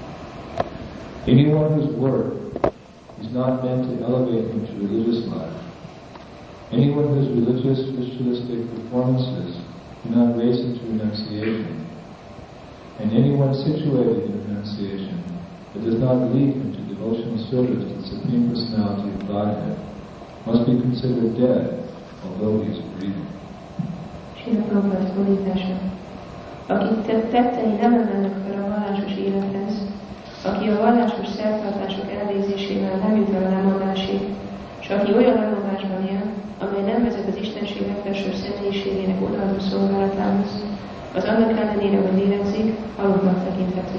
Anyone whose work is not meant to elevate him to religious life, anyone whose religious, ritualistic performances do not raise him to renunciation, and anyone situated in renunciation that does not lead him to devotional service to the Supreme Personality of Godhead must be considered dead, although he is breathing. Srila Prabhupada fordítása. Akik tettei nem emelnek fel a vallásos élethez, aki a vallásos szertartások elvégzésével nem jut el a lemondásig, és aki olyan lemondásban él, amely nem vezet az Istenség legfelsőbb személyiségének odaadó szolgálatához, az annak ellenére, hogy lélegzik, halottnak tekinthető.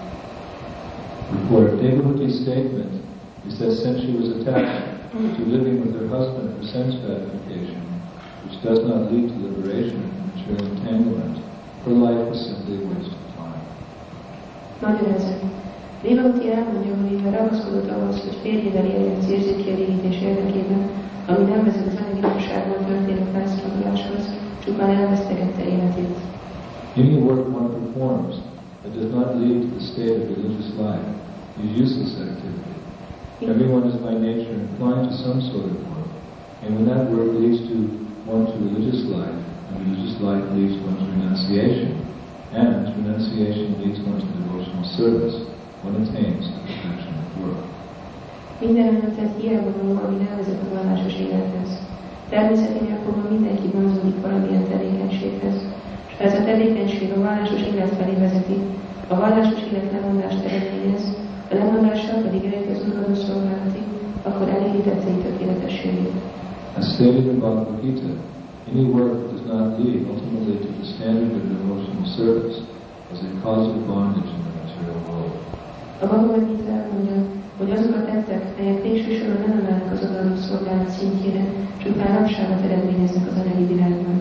For Devahuti's statement is that since she was attached to living with her husband for sense gratification, which does not lead to liberation from material entanglement, her life was simply a waste of time. Magyarázat. Devahuti elmondja, hogy mivel ragaszkodott ahhoz, hogy férjével éljen az érzékkielégítés érdekében, ami nem vezet az anyagigazságból történő felszabaduláshoz, csupán elvesztegette életét. Any work one performs that does not lead to the state of religious life is useless activity. Everyone is by nature inclined to some sort of work, and when that work leads to one to religious life, and religious life leads one to renunciation, and renunciation leads one to devotional service, one attains the perfection of work. Minden esetet hiába való, ami nem vezet a vallásos élethez. Természeténél fogva mindenki vonzódik valamilyen tevékenységhez, és ha ez a tevékenység a vallásos élet felé vezeti, a vallásos élet lemondást eredményez, a lemondással pedig eljut az uraló szolgálatig, akkor eléri tettei tökéletességét. As stated in Bhagavad Gita, any work that does not lead ultimately to the standard of devotional service is a cause of bondage in the material world. A Bhagavad Gita elmondja, hogy azok a tettek, melyek végső soron nem emelnek az odaadó szolgálat szintjére, csupán rabságot eredményeznek az anyagi világban.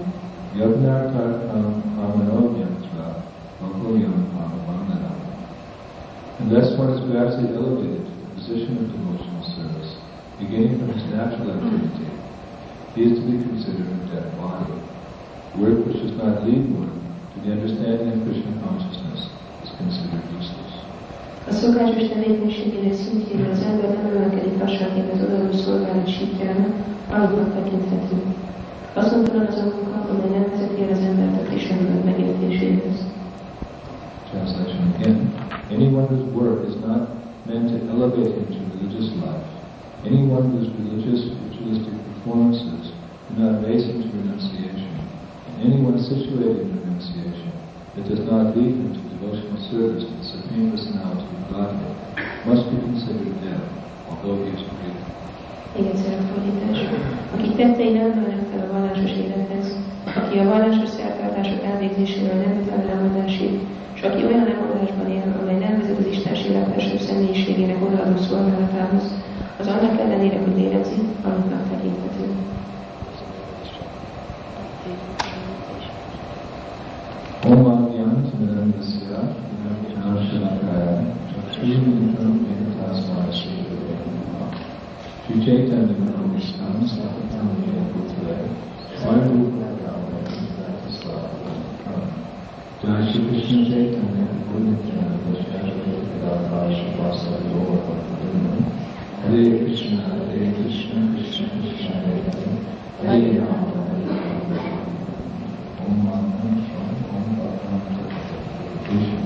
Unless one is gradually elevated to the position of devotional service, beginning from his natural activity, he is to be considered a dead body. Work which does not lead one to the understanding of Krishna consciousness is considered useless. A szokásos tevékenységének szintjére az ember nem emelkedik lassanként az odaadó szolgálat síkjára, halottnak tekinthető. Azonban az a munka, amely nem vezeti el az embert a Krishna tudat megértéséhez. Translation again. Anyone whose work is not meant to elevate him to religious life, anyone whose religious, ritualistic performances do not raise him to renunciation, and anyone situated in renunciation that does not lead him to devotional service to the Supreme Personality of Godhead must be considered dead, although he is breathing. Még egyszer a fordítás. Akik tettei nem emelnek fel a vallásos élethez, aki a vallásos szertartások elvégzésével nem jut el a lemondásig, és aki olyan lemondásban él, amely nem vezet az Istenség legfelsőbb személyiségének odaadó szolgálatához, az annak ellenére, hogy lélegzik, halottnak tekinthető. Om Adhyam Timirandasya Vinamshalakaya Chakshurimitam Vedatasmaya Sridhara Sri Chaitanya Manavishtam Sapatam Vedaputre Svayamrupa Jai Shri Krishna Chaitanya Purnitana Vishwashri Vedapasha Vasari Lord Bhaktivinoda Hare Krishna Hare Krishna Krishna Krishna Hare Hare Hare Rama Hare Rama Om Manam Sham Om Bhaktam Krishna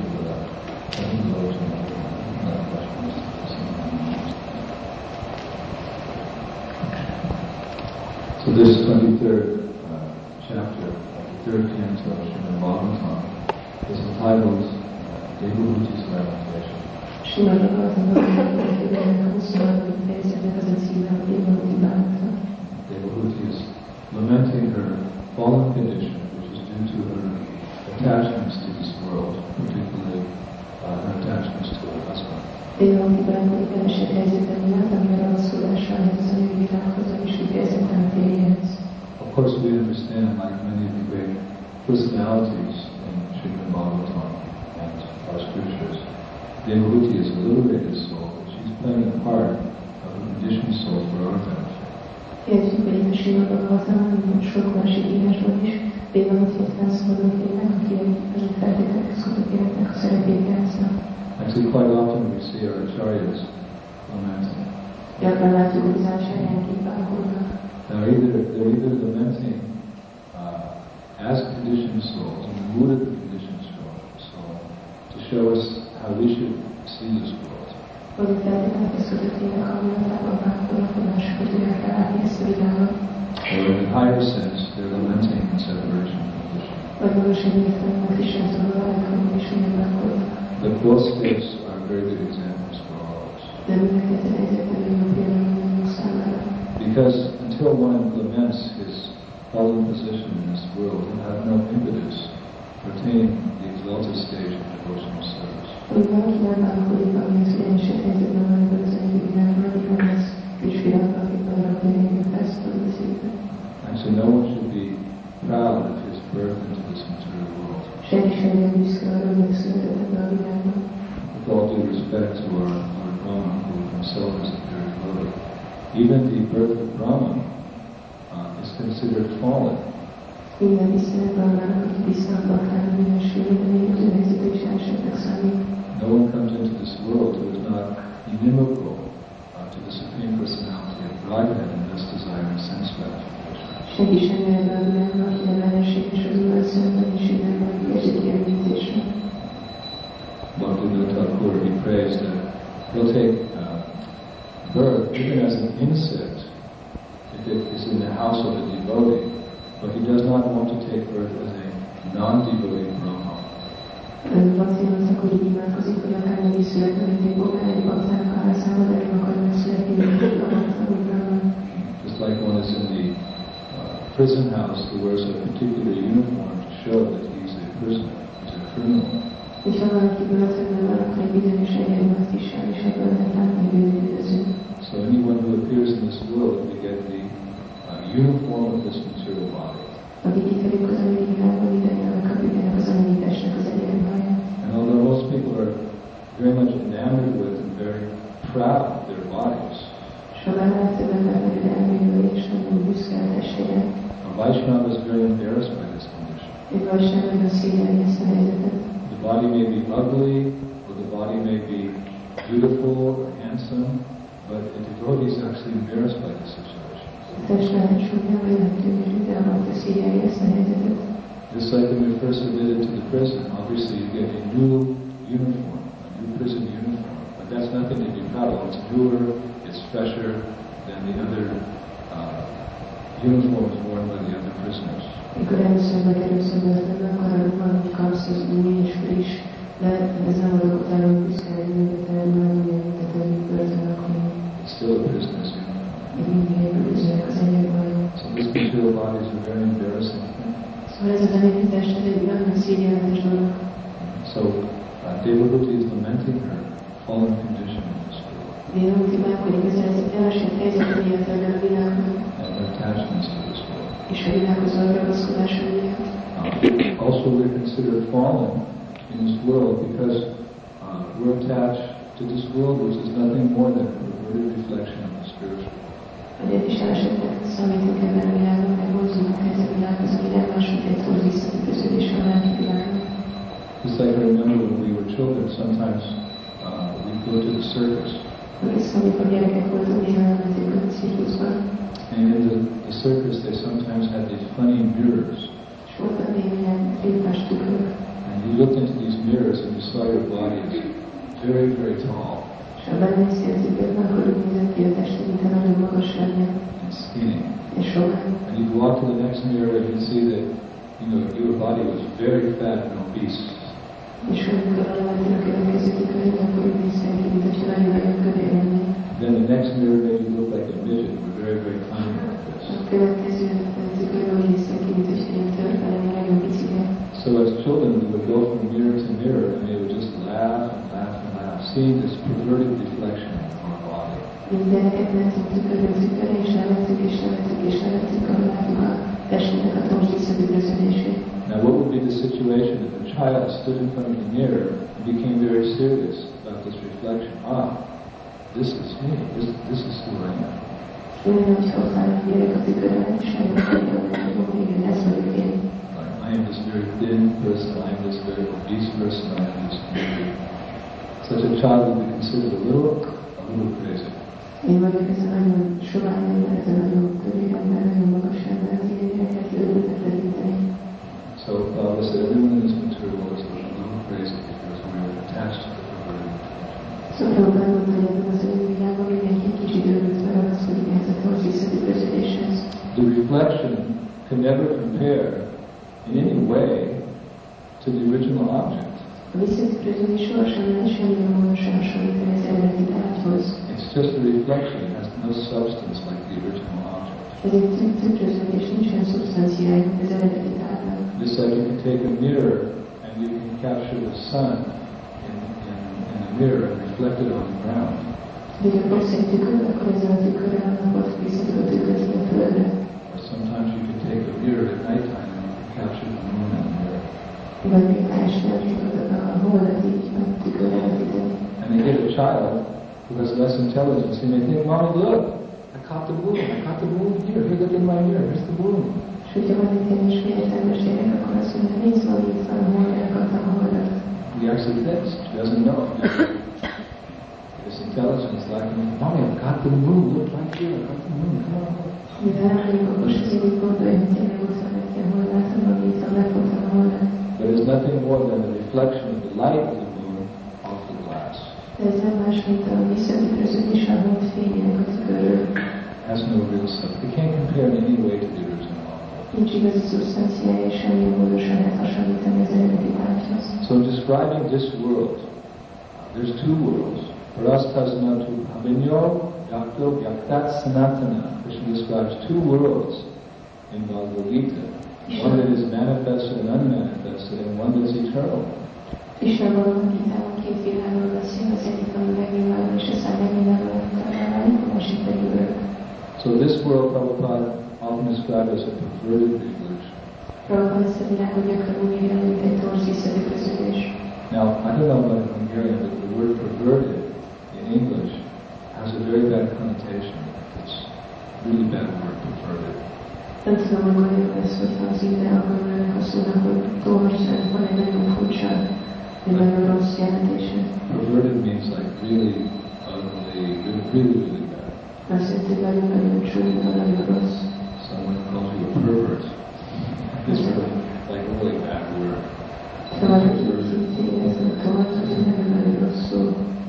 So this 23rd chapter of the 3rd canto of Srimad Bhagavatam is entitled Devahuti's Lamentation. Srimad Bhagavatam 23. fejezetnek az a címe, hogy Devahuti bánata. Devahuti is lamenting her fallen condition, which is due to her attachments to this world, particularly her attachments to her husband. Devahuti bánata keresett helyzete miatt, ami a ragaszkodása az anyagi világhoz, és kifejezetten a férjéhez. Of course, we understand, like many of the great personalities in Srimad Bhagavatam and our scriptures, Devahuti is a liberated soul. She's playing a part of a conditioned soul for our benefit. Értjük, hogy itt a Srimad Bhagavatamban, sok másik írásban is, Devahuti egy felszabadult lélek, aki azon feltételekhez kötött életnek a szerepét játsza. Actually, quite often we see our acharyas lamenting. Gyakran látjuk, hogy az ácsárjánk bánkodnak. They're either lamenting as conditioned souls, in the mood of the conditioned soul, to show us how we should see this world. Vagy a feltételkezkötöttének hangulatában bánkodnak, hogy másokat tudják felállni ezt a világot. Or in a higher sense, they're lamenting separation from Krishna. Vagy magasabb értelemben Krisnától valójában is olyan bánkodnak. But both states are very good examples for all of us. De mindenketten egyértelmű jó például mindannyiunk számára. Because until one laments his fallen position in this world, he'll have no impetus for attaining the exalted stage of devotional service. Hogy valaki nem bánkodik, amihez ugyanisebb helyzetben van ebben az egyik világban, addig nem lesz kisfiatal, akik berakni végül felszabadul az életben. Actually, no one should be proud of his birth into this material world. Senki sem legyen büszke arra, hogy megszületett ebben a világban. With all due respect to our Brahman, who himself is a very devotee, even the birth of Brahman is considered fallen. Minden tisztelet Brahmának, aki visszaadottának minősülni, de még az ő helyzete is elsőnek számít. No one comes into this world who is not inimical to the Supreme Personality of Godhead and thus desiring sense gratification. Senki sem jöjjön be a világba, aki nem ellenséges az Urat szemben, és innen van érzéki elvítésre. Bhaktivinoda Thakur, he prays that he'll take birth even as an insect if it is in the house of a devotee, but he does not want to take birth as a non-devotee Brahma. Bhaktivinoda Thakur így imádkozik, hogy akár meg is születne, mint egy bogár, egy baktának a házában, de nem akar megszületni, mint egy Brahman. Just like one is in the prison house who wears a particular uniform to show that he's a prisoner, he's a criminal. És ha valaki börtönben van, akkor egy bizonyos egyenruhat visel, és ebből lehet látni, hogy ő üldöző. So anyone who appears in this world, they get the uniform of this material body. Akik kiterjük az anyagi világban, mindannyian kapjuk ennek az anyagi testnek az egyenruháját. And although most people are very much enamored with and very proud of their bodies, Sokan legtöbb ember nagyon elmélyül, és nagyon büszke a testére. a Vaishnava is very embarrassed by this condition. Egy Vaishnava nagyon szégyelli ezt a helyzetet. The body may be ugly, or the body may be beautiful or handsome, but the devotee is actually embarrassed by this situation. A test lehet súlya, vagy nem tűnő, de alatt szégyelli ezt a helyzetet. Just like when you're first admitted to the prison, obviously you get a new uniform, a new prison uniform, but that's nothing to be proud of. It's newer, it's fresher than the other uniforms worn by the other prisoners. Mikor először bekerülsz a börtönbe, akkor arra valamit kapsz, az új és friss, de ez nem adok utána, hogy büszke lenni, de te már ugyan, mint a többi börtön, akkor It's still a prisoner's uniform. még mindig elbűzőek az egyenruhájon. So these material bodies are very embarrassing. Szóval ez az anyagi test, ez egy nagyon szégyenletes dolog. So Devahuti is lamenting her fallen condition in this world Devahuti bánkodik ezzel az elesett helyzet miatt ebben a világban, and her attachments to this world. és a világhoz való ragaszkodása miatt. Also, we're considered fallen in this world because we're attached to this world, which is nothing more than a perverted reflection of the spiritual world. Azért is esetleg számítunk ebben a világban, mert vonzulunk ez a világhoz, ami nem más, mint egy túl visszatükröződés a lelki világban. Just like I remember when we were children, sometimes we'd go to the circus. Emlékszem, amikor gyerekek voltunk, néha elmentünk a cirkuszban, And in the circus, they sometimes had these funny mirrors. és voltak még ilyen filmes tükrök, And you looked into these mirrors and you saw your body as very, very tall és ha benéztél a tükrökben, akkor úgy nézett ki a tested, mintha nagyon magas lenne, and skinny. és sokan. And you'd walk to the next mirror and you'd see that, your body was very fat and obese. És amikor elmentél a következő tükrökben, akkor úgy néztél ki, mintha nagyon-nagyon kövér lennél. Then the next mirror made you look like a midget. You were very, very tiny like this. A következő tükrökben úgy néztél ki, mintha ilyen törpe lennél, nagyon picike. So as children, we would go from mirror to mirror and they would just laugh and laugh and laugh, seeing this perverted reflection of our body. Mint gyerekek mentünk tükörről tükörre, és levettük, és levettük, és levettük, ahol látjuk a testünknek a tors visszatükröződését. Now what would be the situation if a child stood in front of the mirror and became very serious about this reflection? This is me. This is who I am. Olyan, hogy ott áll a gyerek a tükörben, és elmondja, hogy igen, ez vagyok én. I am this very thin person, I am this very obese person, I am this very Such a child would be considered a little crazy. Én vagyok ez a nagyon sovány ember, ez a nagyon kövér ember, nagyon magas ember, az ilyen gyereket őrültet tekinteni. So Baba said everyone in this material world is a little crazy because we are attached to the perverted intention. Szóval mondta, hogy ebben az önvilágban mindenki egy kicsit őrült ragaszkodik ehhez a torzíszeti közödéshez. The reflection can never compare in any way to the original object. A visszatükröződés sohasem lehet semmilyen módon sem hasonlítani az eredeti tárgyhoz. It's just a reflection. It has no substance like the original object. Ez egy tükröződés, nincsen szubstanciája, mint az eredeti tárgynak. Just like you can take a mirror and you can capture the sun in the mirror and reflect it on the ground. Hogyha fogsz egy tükröt, akkor ezzel a tükröre a napot vissza tudod tükrözni a földre. Or sometimes you can take a mirror at nighttime and you can capture the moon in the mirror. Vagy még este tudod a holdat így a tükörre vetíteni. And they get a child who has less intelligence. He may think, Mommy, look, I caught the moon. I caught the moon here. Here, look in my mirror. Here's the moon. És hogyha van egy ilyen is értelmes gyerek, akkor azt mondja, nézd, van itt van a hold, elkaptam a holdat. He actually thinks. She doesn't know. His intelligence like, Mommy, I caught the moon. Look right here. I caught the moon. Come on. Mivel rámegyek, akkor se így gondolja, hogy tényleg ott van neki a hold, látom, hogy itt van, megfogtam a holdat. But it's nothing more than the reflection of the light of the moon off the glass. De ez nem más, mint a visszatükröződés a hold fényének a tükörről. Has no real substance. It can't compare in any way to the original object. Nincs igazi szubstanciája, és semmilyen módon sem lehet hasonlítani az eredeti tárgyhoz. So describing this world, there's two worlds. Parastasnatu Abhinyo Yakto Yaktat Sanatana. Krishna describes two worlds in Bhagavad Gita. One that is manifested and unmanifested, and one that's eternal. Krishna Bhagavad Gitában két világról beszél, az egyik, ami megnyilvánul, és aztán megnyilvánul, a másik pedig örök. So this world, Prabhupada often described as a perverted evolution. Prabhupada ezt a világot gyakran úgy írja, mint egy torzíszeti közülés. Now, I don't know about Hungarian, but the word perverted in English has a very bad connotation. It's a really bad word, perverted. Nem tudom, hogy magyarul lesz, hogyha az ide angolul ennek a szónak, hogy tolvasság van egy nagyon furcsa, egy nagyon rossz jelentése. Perverted means like really ugly, really bad. Azt jelenti, hogy nagyon csúnya, nagyon rossz. Someone calls you a pervert. It's really like a really bad word. Szóval, hogy ez a tolvasság, ez nagyon rossz szó.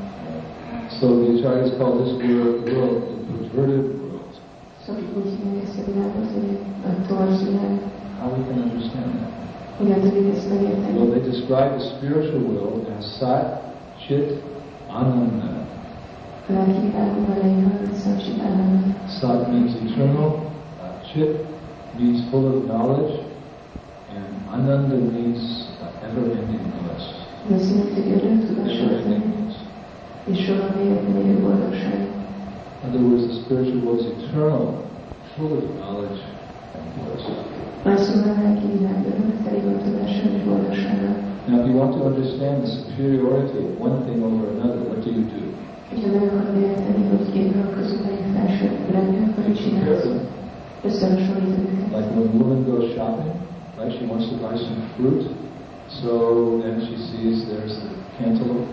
So the acharyas call this world the perverted world. Szóval úgy hívják ezt a világot, hogy a torz világ. How we can understand that? Hogyan tudjuk ezt megérteni? Well, they describe the spiritual world as Sat, Chit, Ananda. A lelki világban leírva, hogy Sat-Chit Ananda. Sat means eternal, Chit means full of knowledge, and Ananda means ever-ending bliss. Ez azt jelenti, hogy örök tudasaltan, és soha véletlenül boldogság. In other words, the spiritual world is eternal, full of knowledge and bliss. Másszóval a lelki világ örök, teli van tudással és boldogsággal. Now, if you want to understand the superiority of one thing over another, what do you do? És ha meg akarod érteni, hogy két dolog között melyik felsőbb lenni, akkor mit csinálsz? Összehasonlítod őket. Like when a woman goes shopping, right? She wants to buy some fruit, so then she sees there's a cantaloupe.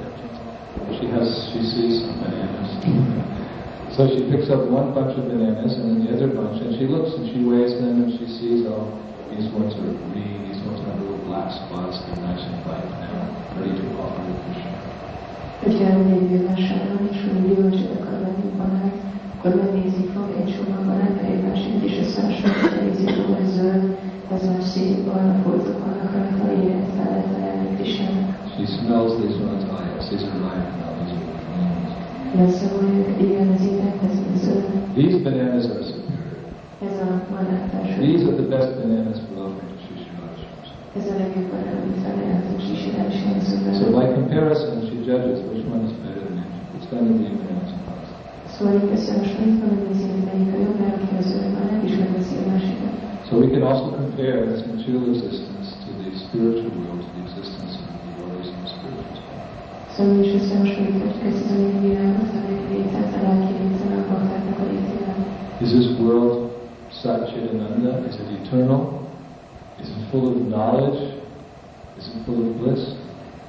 She sees some bananas. So she picks up one bunch of bananas and then the other bunch, and she looks and she weighs them and she sees, oh, these ones are green, these ones have little black spots, they're nice and ripe now, ready to offer to Krishna. Hogyha elmegy vásárolni, és hogy gyümölcsöt akar venni banán, akkor megnézi, fog egy csomag banán, egy másikat, és összehasonlít, elnézi, hogy ez zöld, ez már szép, barna foltok vannak rajta, élet fel lehet ajánlani Krishnának. She smells these ones, oh yes, these are ripe now, these are greens. Leszavoljuk, igen, az élet, ez zöld. These bananas are superior. Ez a banán felső. These are the best bananas for offering to Shri Radha. Ez a legjobb banán, amit felajánlott Sri Radha. So by comparison, she judges which one is better than each. It's going to be bananas and rice. Szóval itt összehasonlítva, megnézi, hogy melyik a jobb, mert az zöld banán, és megveszi a másikat. So we can also compare this material existence to the spiritual world, to the existence of the devotees in the spiritual world. Szóval is összehasonlíthatjuk ezt az anyagi világot, a lelki létet, a lelki léten, a baktáknak a létével. Is this world Sat-Chit-Ananda? Is it eternal? Is it full of knowledge? Is it full of bliss?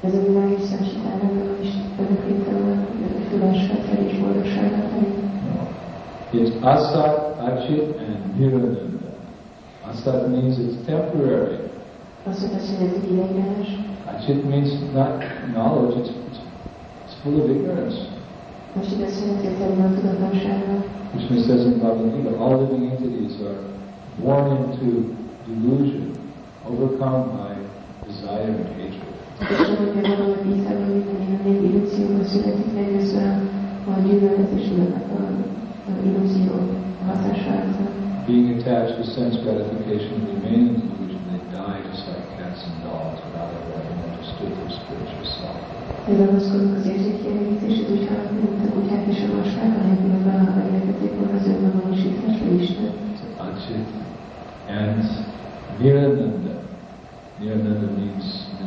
Ez a világ is szemsítárnak is öröklételen, tudásfeltel és boldogsággal tenni. It's asat, achit, and nirananda. Asat means it's temporary. Azt azt jelenti, hogy ideiglenes. Achit means not knowledge, it's full of ignorance. Most itt azt jelenti, hogy terül a tudatlansággal. Krishna says in Bhagavad Gita, all living entities are born into delusion, overcome by desire and hatred. És mondja, hogy a Gitában minden még illúzióban születik legőször a gyűlölet és a illúzió hatására. Being attached to sense gratification and remain in delusion, they die just like cats and dogs without ever having understood their spiritual self. Ragaszkodunk az érzékkielégítéshez, úgy halnak, mint a kutyák és a macskák, anélkül, hogy valaha megértették volna az önmagvalósításra Isten. Achit and Nirananda. Nirananda means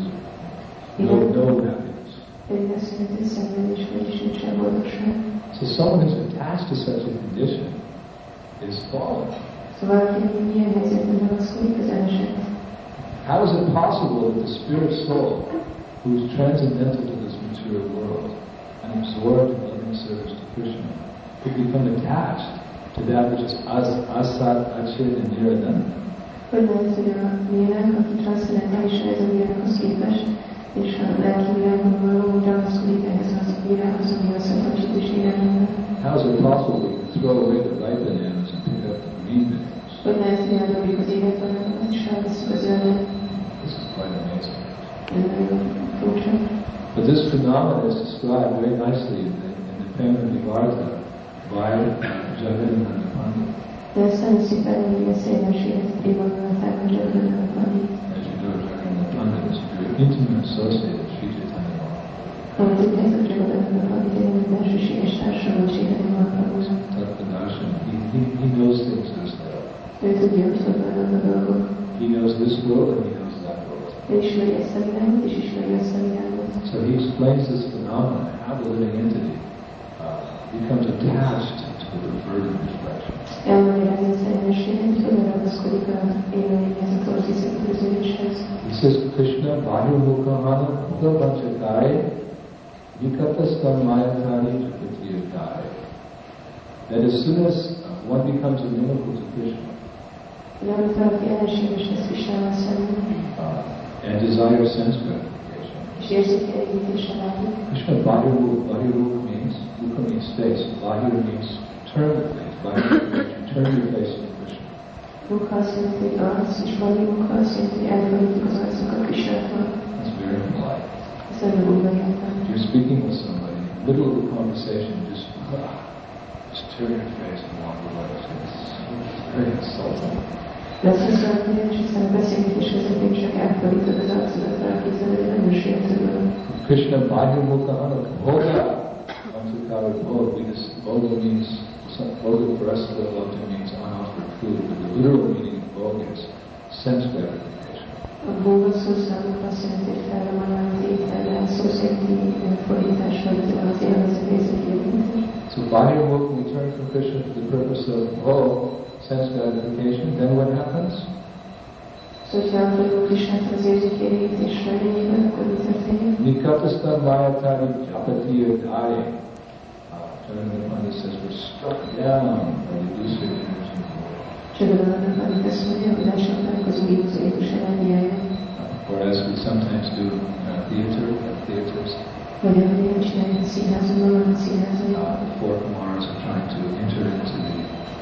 no happiness. Pedig azt jelenti, hogy szenvedés, vagyis nincs a boldogság. So someone who's attached to such a condition is fallen. Szóval, aki milyen helyzetben ragaszkodik, az elesett. How is it possible that the spirit soul, who is transcendental to this material world and absorbed in loving service to Krishna, could become attached to that which is asat, achit, and nirananda? Hogy lehet, hogy a lélek, aki transzcendentálisan ez a világhoz képest, és a lelki világban való ragaszkodik ehhez az világhoz, ami a szentacsit és nirananda. How is it possible we can throw away the ripe bananas and pick up the green bananas? Hogy lehet, hogy eldobjuk az élet bananákat, és felveszünk a zöldet. This is quite amazing. Ez nagyon furcsa. But this phenomenon is described very nicely in the Prema Vivarta by Jagadananda Pandit. De ezt nagyon szépen a szélességet évaluálták a Jagadananda Pandit. As you know, Jagadananda Pandit is a very intimate associate of Sri Chaitanya Mahaprabhu. Ahogy tudják, a Jagadananda Pandit egy nagyon belsőséges társam volt Chaitanya Mahaprabhu. Tattva-darshan, he knows things as they are. Ő tudja, hogy hogy vannak a dolgok. He knows this world and he knows that world. Ő ismeri ezt a világot, és ismeri azt a világot. So he explains this phenomenon, how the living entity becomes attached to the perverted reflection. Elmagyarázza ezt a jelenséget, hogy hogyan ragaszkodik az élőlényhez, a torzíszítőződéshez. He says, Krishna, Vajumukhamana, Pulavanchakai, Vikatastam Mayatari Japatiyadai. That as soon as one becomes amenable to Krishna, Amikor ellenséges lesz Krisnával szemben, and desire sense gratification, és érzékelégítésre vágyik. Krishna Vajumukha means, Mukha means face, Vajura means turn the face, Vajura means you turn your face to Krishna. Mukha azt jelenti, hogy arc, és Vajra Mukha azt jelenti, hogy elfordítjuk az arcunkat Krisnától. It's very polite. Ez nagyon úgy megjelent. If you're speaking with somebody, in the middle of the conversation, just turn your face and walk away. It's very insulting. Lesz az valaki, és aztán a beszélgetés közepén csak elfordítod az arcodat, elképzeled, hogy nagyon sértő van. Krishna Vajumukha Anaka Bhoga Antukara Bhoga, because Bhoga means, Bhoga for us, the Bhoga means unoffered food, but the literal meaning of Bhoga is sense gratification. A bóga szó számukra azt jelenti, hogy felromanál az ételre, a szó szerinti fordítás, vagy az élvezet érzékelégítés. So Vajumukha, we turn from Krishna for the purpose of sense gratification, then what happens? Szóval, hogyha elfordulunk Krisnától az érzékelégítés felényében, akkor mi történik? Nikatastam Mayatari Japatiyadai. Jagadananda Pandit says we're struck down by the illusory energy of the world. Jagadananda Pandit azt mondja, hogy lássanak az illúziós energiája. Or as we sometimes do in theaters, Vagy ahogy én csináljuk a színházon, a színházon. the four Kumaras are trying to enter into the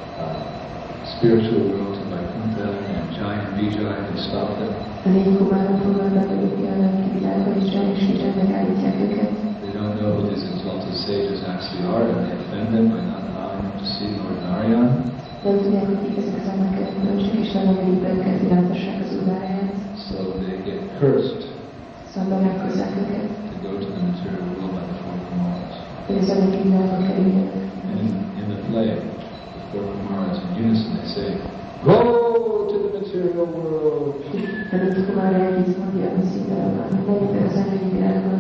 spiritual world of Vaikuntha and Jai and Vijay, they stop them. A négy kumáron próbálnak belépni a lelki világba, és Jai és Vijay megállítják őket. They don't know who these exalted sages actually are, and they offend them by not allowing them to see Lord Narayan. Nem tudják, hogy kik ezek az emberek, és nem engedik be őket, hogy láthassák az Uráját. So they get cursed Szóval berákozzák őket, to go to the material world by the four Kumaras. hogy az anyagi világba kerüljenek. And in the play, the four Kumaras in unison, they say, "Go to the material world." De négy kumára együtt mondja a színdarabban, hogy menjetek az anyagi világba.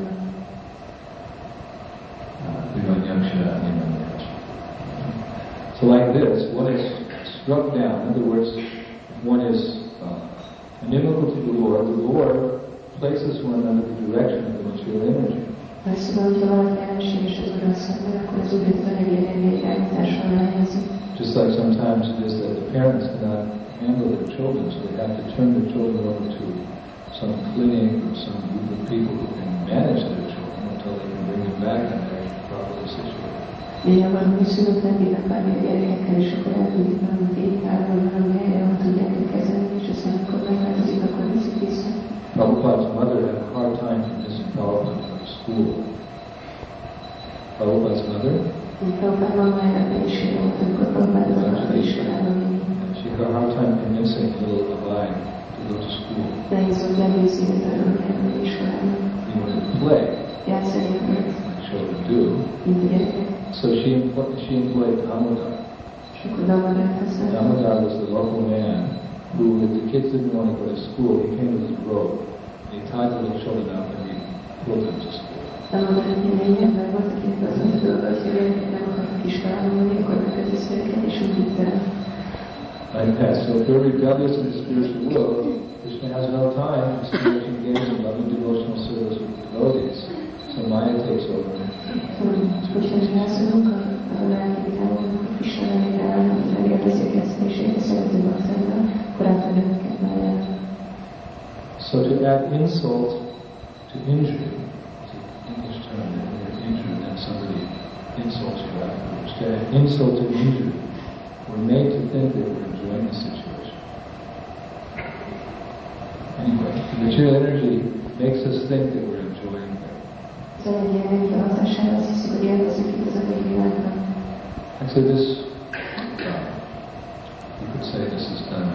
So like this, one is struck down. In other words, one is inimical to the Lord places one under the direction of the material energy. Szóval, hogyha valaki ellenséges az Ural szemben, akkor az Úr a anyagi energia irányításra helyezik. Just like sometimes it is that the parents cannot handle their children, so they have to turn their children over to some clinic or some group of people who can manage their children until they can bring them back and they're properly situated. Ilyen valami szülők nem bírnak várni a gyerekekkel, és akkor elküldik valami védtárban, valami helyre, ahol tudják őt kezelni, és aztán amikor megváltozik, akkor viszik vissza. Prabhupada's mother had a hard time convincing Prabhupada to go to school. Prabhupada's mother? Prabhupád mamájának nehézsége volt, amikor Prabhupád valami iskolában mindig. She had a hard time convincing little Abai to go to school. Nehéz volt meggyőzni őt arról, hogy elmegy iskolába. He wanted to play, Játszani akart, like children do. mint a gyerekek. So she employed Damodar. És akkor Damodart használt. Damodar was the local man who, if the kids didn't want to go to school, he came with his rope. He tied the little children up and he pulled them to school. Damodar egy ember volt, akinek az volt a dolga, hogy a gyerekek nem akartak iskolába menni, akkor megkötözte őket, és úgy vitte el. Like that. So if they're rebellious in the spiritual world, Krishna has no time to spiritually engage in loving devotional service with the devotees. So Maya takes over. Hogyha rászolunk a lelki világban, a Krishna nevére, hogy megérdezik ezt, és én szerető baktáival, akkor átadja őket Májára. So to add insult to injury, it's an English term that when you're injured, then somebody insults you afterwards. To add insult to injury, we're made to think that we're enjoying the situation. Anyway, the material energy makes us think that we're enjoying it. Az anyagi energia hatására azt hiszük, hogy élvezzük itt az anyagi világban. And so this, you could say this is done.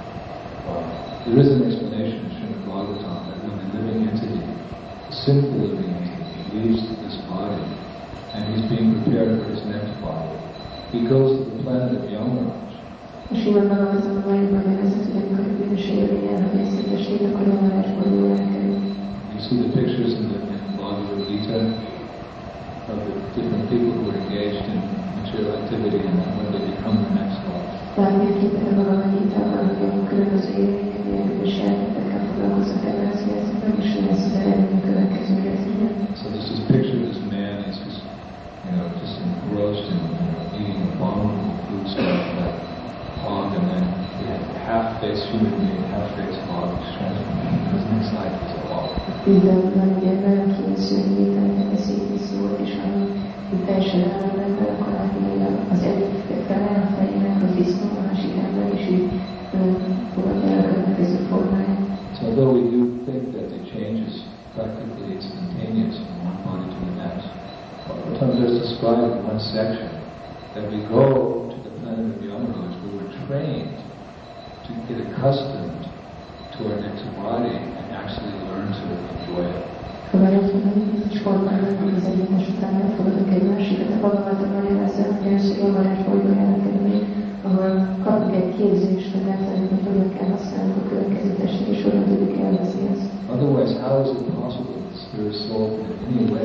There is an explanation in Srimad Bhagavatam that when the living entity, the sinful living entity, leaves this body and he's being prepared for his next body, he goes to the planet of Yamaraj. A Srimad Bhagavatamban valójában nevezett, hogy amikor a bűnös élmény elhagyja ezt a testét, akkor Yamarajból jól elkerül. You see the pictures in Bhagavad Gita of the different people who are engaged in material activity and when they become the next life. Látni a képet a Bhagavad Gitában, hogy a különböző élmények, ilyen bűnös elméletekkel foglalkoznak ebben az életben, és mi lesz az eredmény a következő életben. So this is picture this man is just, just engrossed in eating abominable food stuff like hog, and then we have half-faced human being, half-faced hog, which transformed his next life is a hog. Minden nagy ember, aki szörnyét, aminek a szétviszót, és ami teljesen állam ember, akkor látni az egyik fele a fejének az disznó, a másik ember, és így fogadja el a következő formáját. So although we do think that the change is practically instantaneous from one body to the next, sometimes there's described in one section that we go to the planet of Yamaraj where we're trained to get accustomed to our next body and actually learn to enjoy it. Szóval egy bizonyos formában, hogy az egyenes után elfogadok egy másikat, a Bhagavatamban nevezem, hogy először Yamaraj bolygójára kerülni, ahol kapnak egy képzést, hogy megtanulni, hogy hogyan kell használni a következő testet, és hogyan tudjuk élvezni ezt. Otherwise, how is it possible that the spirit soul can in any way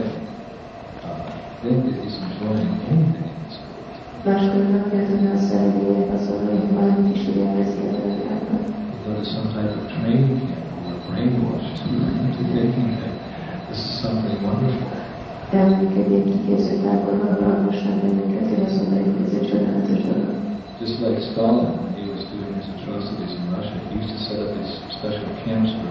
think that he's enjoying anything in this world? Máskor nem kell tudni a szerelmények azonban, hogy valamit is úgy élvezi a világban. We go to some type of training camp where we're brainwashed into thinking that this is something wonderful. Elmondjuk egy ilyen kiképzőtáborban, ahol alkosnak bennünket, hogy azt mondani, hogy ez egy csodálatos dolog. Just like Stalin, when he was doing his atrocities in Russia, he used to set up these special camps for,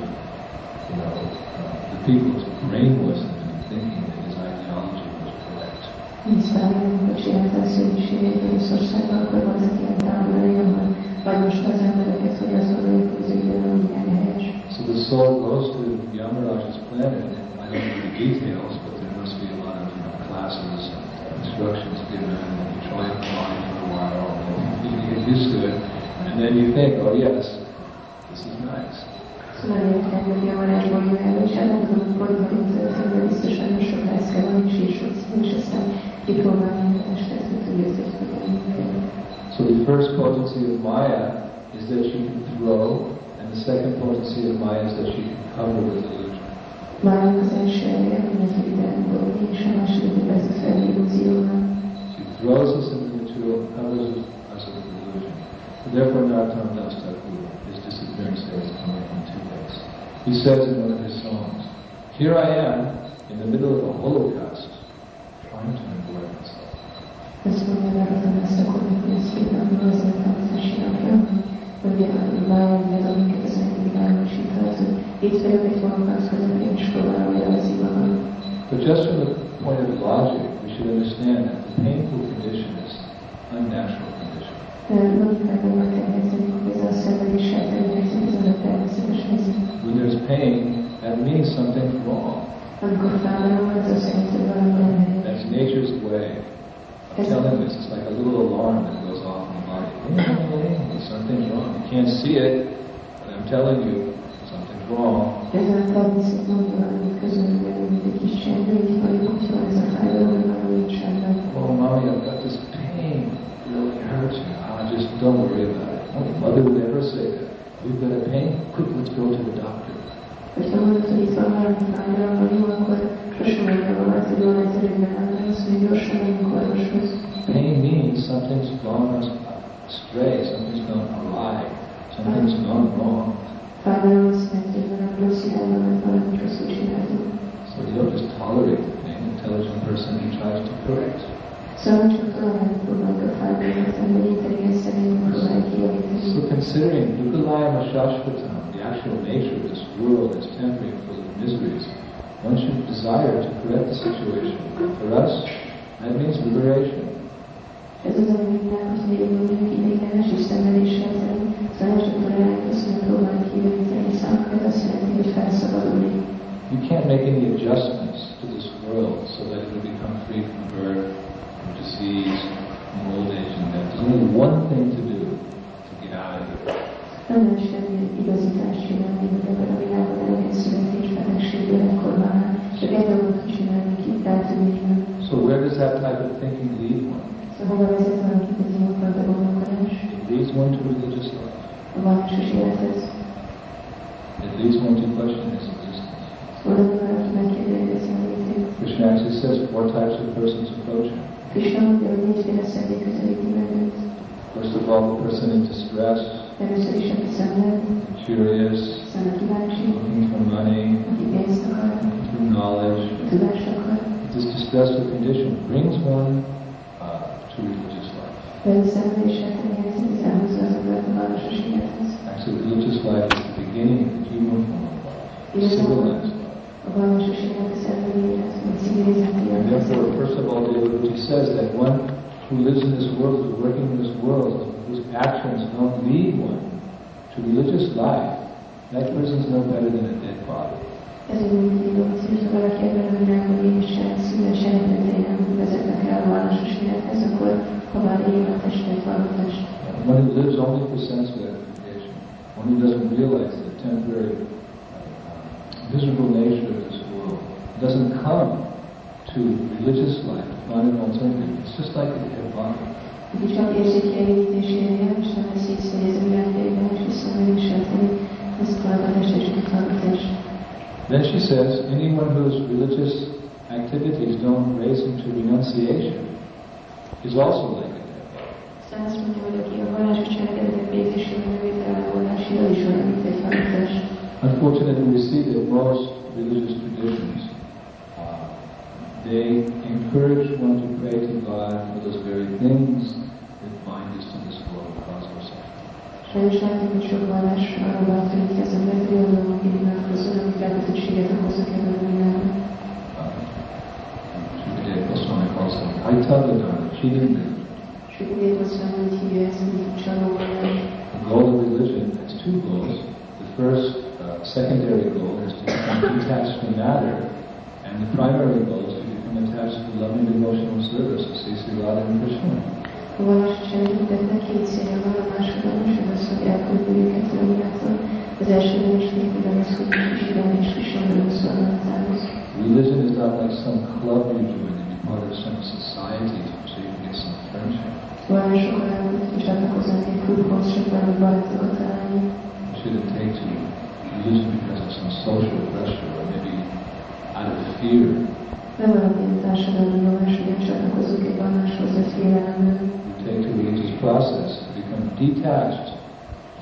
the people to brainwash them into thinking that his ideology was correct. Stalin, amikor csinálta a szörnyűségét Oroszországban, akkor voltak ilyen táborai, ahol bajmosta az embereket, hogy azt gondoljuk, hogy az ügyben nem mindjárt helyes. So the soul goes to Yamaraj's planet, and I don't know the details, but there must be a lot of classes and instructions given, and you try it fine for a while, and you get used to it, and then you think, oh yes, this is nice. Szóval értem, hogy Yamaraj bolygójára, és elmondom, hogy bolygóint történve biztosan nem sok lesz kell, hogy és aztán kipróbálni a testet, hogy tudja, hogy hogyan. So the first potency of Maya is that she can throw, and the second potency of Maya is that she can cover with illusion. Májának az első elje, hogy az idején bolygó, és a második, hogy ez a fel illúzióval. She throws us into the material, covers us with illusion. Therefore, Narottam Das Thakur is disappearing. appearance there is coming from two ways. He says in one of his songs, "Here I am in the middle of a holocaust, trying to avoid myself." Ezt mondja megadom ezt a kommunikációban, azért hangzásinak, hogy bármilyen, amiket az egyik világosíthat, itt vagyok egy holokauszt közepén, és próbálom élvezni magam. But just from the point of logic, we should understand that the painful condition is an unnatural condition. Logikában meg kell érteni, hogy ez a szenvedéssel teli helyzet, ez a természetes helyzet. When there's pain, that means something's wrong. Amikor fájdalom, ez azt jelenti, hogy valami nem helyes. That's nature's way of telling us. It's like a little alarm that goes off in the body. Something's wrong. You can't see it, but I'm telling you, something's wrong. Ez a természet mondja valamit közömből, mint egy kis csendő, így vagy, hogyha ez a fájdalom, hogy valami nincs rendben. Oh, mommy, I've got this pain. It really hurts me. Just don't worry about it. No mother would ever say that. We've got a pain. Quick, let's go to the doctor. Hogyha mondod, hogy itt van valami fájdalom, vagy jó, akkor sosem mondja valamit, hogy jól egyszerűen nem lesz, hogy gyorsan megyünk orvoshoz. Pain means something's gone astray, something's gone awry, something's gone wrong. Fájdalom azt jelenti, hogy valami rossz irányba, mert valamit rosszul csináltunk. So you don't just tolerate the pain. An intelligent person who tries to correct. Szóval csak tolerálni próbáljuk a fájdalmat, hogy intelligens szerint próbáljuk kijavítani. So considering Dukkhalayam Shashvatam, the actual nature of this world is temporary and full of miseries, one should desire to correct the situation. For us, that means liberation. Ez az, ami minden, hogy mondjuk ideiglenes és szenvedéssel szerint, szóval csak toleráljuk azt, hogy próbáljuk kijavítani számunkra, ez azt jelenti, hogy felszabadulni. You can't make any adjustments to this world so that it will become free from birth, from disease, from old age and death. There's only one thing to do to get out of it. Nem lehet semmi igazítást csinálni, hogy ebben a világban elég születés, feleségből, ekkorban áll. Csak egy dolgot csinálni, ki rátűnni. So where does that type of thinking lead one? Szóval hova vezet valakit az ilyenfajta gondolkodás? It leads one to religious life. A vallásos élethez. It leads one to question his existence. Oda valaki megkérdezi a létét. Krishna actually says 4 types of persons approach him. Krishna mondja, hogy 4 féle személy közelíti meg őt. First of all, the person in distress, Először is, aki szenved, curious, szeme kíváncsi, looking for money, aki pénzt akar, looking for knowledge. tudást akar. This distressful condition brings one to religious life. Például szenvedéssel teli helyzet, ez elhozza az embert a vallásos élethez. Actually, religious life is the beginning of the human form of life, civilized life. A vallásos élet az elmélyélet, vagy civilizált And élet. therefore, first of all, Devahuti says that one who lives in this world, who's working in this world, whose actions don't lead one to religious life, that person is no better than a dead body. Ezért mindig dolgozik, hogy valaki ebben a világban mégis szíves eredetei nem vezetnek el a vallásos élethez, akkor hová él a testet, való test. One who lives only for sense gratification, one who doesn't realize the temporary, miserable nature of this world, doesn't come to religious life to find an alternative. It's just like a dead body. Aki csak érzékeljenítésénél él, és nem veszi észre, hogy ez a világ ideiglenes és szenvedéssel teli, ez tovább a test és utána a test. Then she says, anyone whose religious activities don't raise him to renunciation is also like a dead body. Aztán azt mondja, hogy aki a vallásos cselekedetek végzésében növétel elvonási, az is olyan, mint egy halott test. Unfortunately, we see that most religious traditions, they encourage one to pray to God for those very things that bind us to this world and cause our suffering. Sajnos látjuk, hogy sok vallás arra bátorítja az embert, hogy olyan dolgokért imádkozzon, amik felkötöttséget okoznak ebben a világban. Shukadeva Goswami calls them Aitavadana, cheating them. Shukadeva Goswami hívja ezt, mint csalóvallást. The goal of religion has 2 goals. The first, secondary goal is to become detached from matter, and the primary goal is to become attached to loving devotional service of Sri Radha and Krishna. A vallásos embereknek 2 célja van, a másodlagos, az az, hogy elküldni őket a világtól. Az első is végül az, hogy Krishna és Krishna szolgálatához. Religion is not like some club you join to be part of some society so you can get some friendship. Vallások olyan, hogy csatlakoznak egy klubhoz, csak valami barátokat találni. You shouldn't take to religion because of some social pressure or maybe out of fear. Nem valamilyen társadalmi nyomás, hogy csatlakozunk egy valláshoz, vagy félelemből. You take to religious process to become detached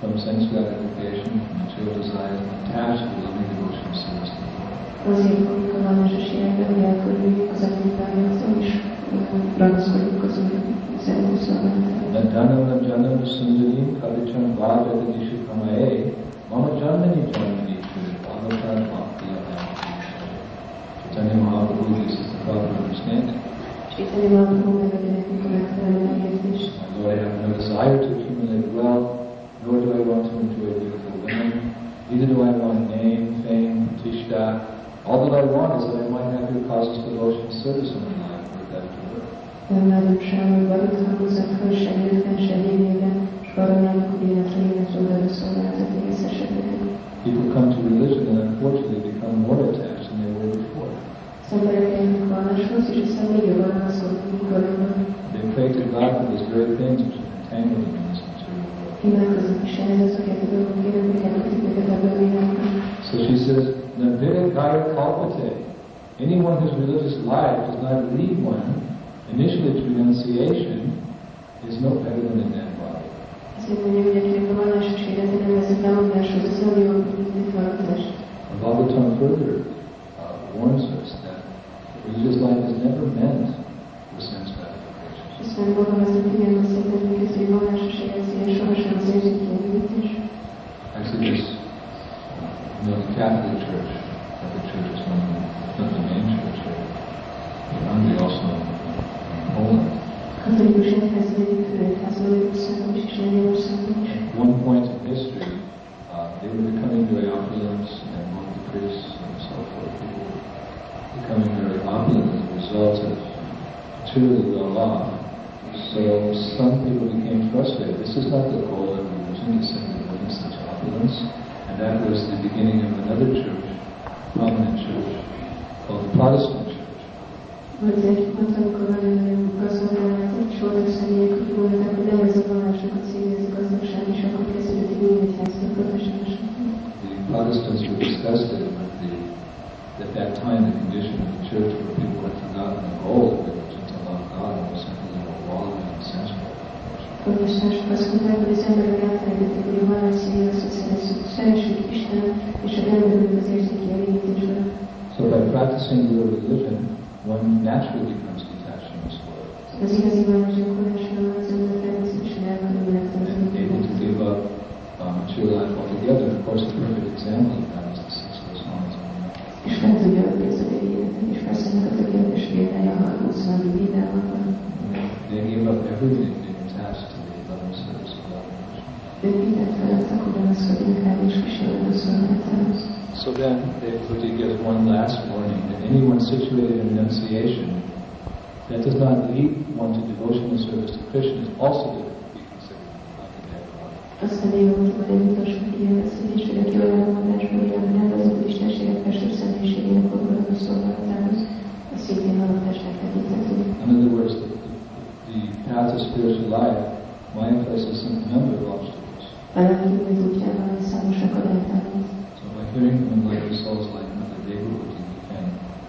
from sense gratification, from material desires, and attached to loving devotional service to the Lord. Azért fogjuk a vallásos életben elkülönjük az anyagvágyaktól, és ragaszkodjuk az Úr szerető szolgálatára. Nadanam janam sundarim kavicam vajada nishikamae mama janmani janmani churi bhagavatam bhakti-yamam. Chaitanya Mahaprabhu, this is the proper understanding. Chaitanya Mahaprabhu megadja nekünk a megfelelő megértést. Lord, I have no desire to accumulate wealth, nor do I want to enjoy beautiful women. Neither do I want name, fame, pratishtha. All that I want is that I might have your causes devotion service in my life, or that to work. Nem nagyon semmi vagyok, hangozat föl, se életben, se végében, és arra nem, hogy életlen életről szolgálatot végezhessek nekünk. People come to religion and unfortunately become more attached than they were before. Az emberek eljönnek valláshoz, és aztán még jobban ragaszkodnak, mint korábban. They pray to God for those very things which have entangled them in this material world. Imádkoznak is ehhez azokért a dolgokért, amik elkötik őket ebből a világban. So she says, Navira Gaya Kalpate. Anyone whose religious life does not lead one initially to renunciation is no better than a dead body. Azt mondja, hogy akinek a vallásos élete nem vezet lemondáshoz, az olyan jó, mint halálkozást. Bhagavatam further warns us that religious life is never meant for sense gratification. Aztán Bhagavatam igen azt mondja, hogy a vallásos élet sohasem az érzéki elégítés. Actually, this the Catholic Church, is one of the main church here. And also in Poland. Katolikus egyház egyik országban is, és Lengyelországban is. At one point in history, they were becoming very opulent, and among the priests and so forth, people were becoming very opulent as a result of materially well off. So some people became frustrated. This is not the goal of religion, to simply live in such opulence. And that was the beginning of another church, prominent church, called the Protestant Church. Volt egy pont, amikor nagyon gazdagálat, egy sorok személyek úgy voltak, hogy nem ez a vallásokat célja, ez a gazdagság, és akkor kezdődött egy új egyházba, a protestánsok. The Protestants were disgusted with at that time the condition of the church where people had forgotten the goal of religion to love God and were simply wallowing in sense gratification. Protestánsok azt mondták, hogy az emberek elfelejtették, hogy a vallás célja az, hogy szeressük Istenet, és a emberünk az érzéki elégítésben. So by practicing real religion, one naturally becomes detached from this world. Az igazi vallás gyakorlásnál az ember természetesen elkerülnek able to give up material life altogether. Of course, the perfect example of that is the six Goswamis. És fel tudja adni az ő életet, és persze ennek a tökéletes példája a 20. védelmában. They gave up everything being attached to the loving service of God. Ők mindent feladtak, hogy ragaszkodjunk rá, és kísérlő a szolgálatához. So then, they put together one last warning that anyone situated in renunciation that does not lead one to devotional service to Krishna is also to be considered like a dead body. Aztán még van egy utolsó kijelentkezés, hogy aki olyan mondásban él, nem vezet Istenséget festő személyiségének oldalon szolgálatához, az szintén halotásnak tekinthető. In other words, the path of spiritual life, Maya places a number of obstacles. A lelki útjában számos akadályt állít. So by hearing from enlightened souls like Mother Devhuti, we can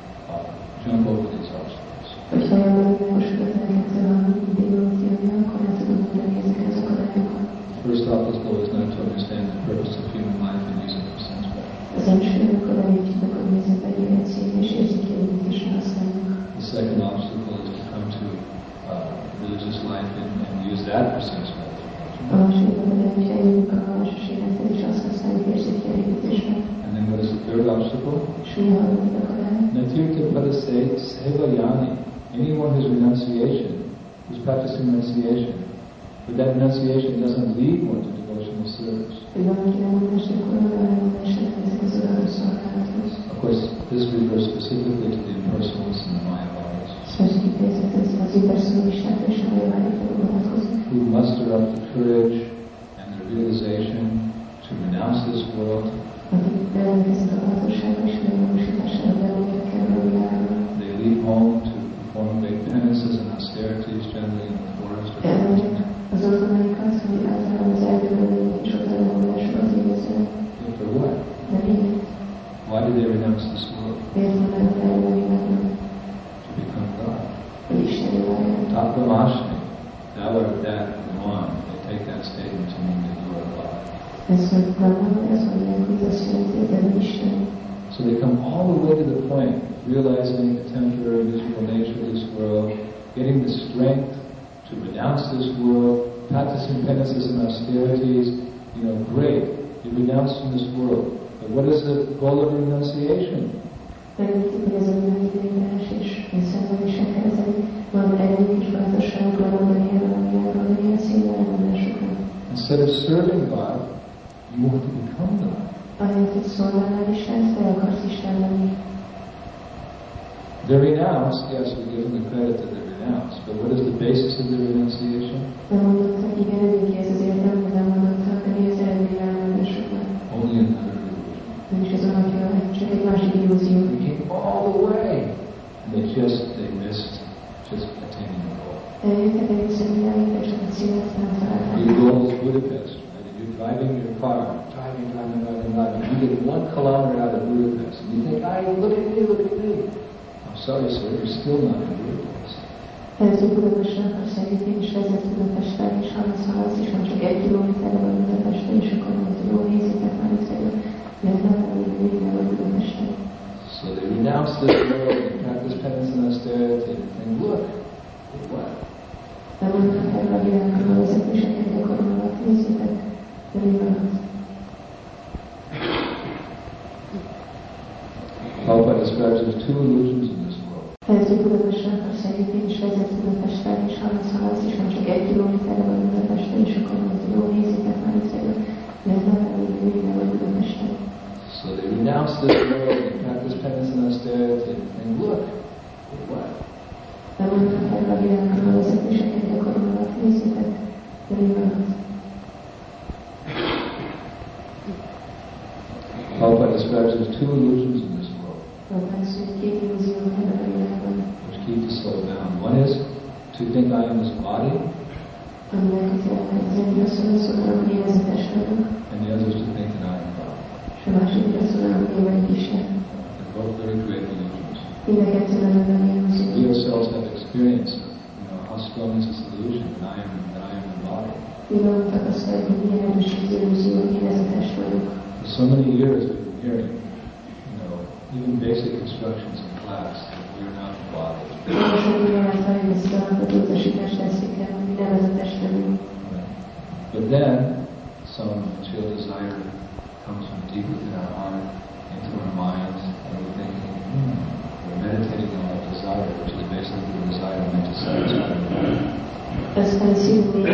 jump over these obstacles. Hogy hallgatom világosokat lelkettől a Devhuti-ami, akkor nem tudom mondani ezeket az akadályokat. First obstacle is not to understand the purpose of human life and use it for sense gratification. Az első akadály úgy tudok, hogy nézem be egy célja és érzéki elégítésre használjuk. The second obstacle is to come to religious life and use that for sense gratification. A második akadály, hogy eljövünk a vallásos életet, és azt használjuk érzéki elégítésre. And then what is the third obstacle? És mi a harmadik akadály? Natirtha Padase Sevayani. Anyone whose renunciation, who's practicing renunciation, but that renunciation doesn't lead one to devotional service. Of course, this refers specifically to the impersonalists and the Mayavadis, who muster up the courage and the realization to renounce this world. They leave home to perform great penances and austerities, generally in the forest or mountain. For what? Why did they renounce this world? To become God. Tapramashni, thou art that, the one. They take that statement to mean that you are God. Ez, hogy Brahma, ez mondják, hogy azt jelenti, hogy Isten. So they come all the way to the point, realizing the temporary visible nature of this world, getting the strength to renounce this world, practicing penances and austerities. Great, you renounce from this world. But what is the goal of renunciation? Megértik, hogy ez a világidőjárás és szenvedésekhez van erejük és bátorságuk lemondani ellenjáról, hogy ilyen színű elmondásokra. Instead of serving God, you want to become God. Ahelyett, hogy szolgálnál Istent, te akarsz Isten lenni. They're renounced, yes, we give them the credit that they're renounced, but what is the basis of their renunciation? Nem mondottak, igen, ők ez azért nem mondottak, de mi az eredmény elmondásoknak? Only another illusion. Nincs az alapja, csak egy másik illúzió. They came all the way, and they missed just attaining the goal. Eljöttek egészen idáig, és csak a célt nem találták. Your goal is Budapest, right? You're driving your car, driving. You get 1 kilometer out of Budapest, and you think, look at me. I'm sorry, sir, you're still not in Budapest. Előző Budapestre akarsz eljutni, és vezet Budapestre, és haladsz, és már csak 1 kilométerre vagy Budapestre, és akkor mondod, hogy jó, nézzétek már itt elő, mert nem vagy Budapestre. So they renounce this world, they practice penance and austerity, and look, what? Nem mondtak erre a világról, vezetéseket gyakorolnak, nézzétek, de mi van az? Prabhupada describes there's 2 illusions in this world. Előző Budapestre akarsz eljutni, és vezet Budapestre, és haladsz, és már csak 1 kilométerre vagy Budapestre, és akkor mondod, hogy jó, nézzétek már itt elő, mert nem vagy Budapestre. So they renounce this world, they practice penance and austerity, and look, what? Nem mondtak erre a világról, vezetéseket gyakorolnak, nézzétek, de mi van az? Prabhupada describes there's 2 illusions in this world, which keep the soul down. One is to think I am this body, and the other is to think that I am God. They're both very great illusions. We ourselves have experience of how strong is this illusion that I am the body. For so many years we've been hearing, even basic instructions in class that we are not the body. But then some material desire comes from deep within our heart, into our minds, and we're thinking, we're meditating on that desire, which is basically the desire meant to satisfy the body. Aztán szívünk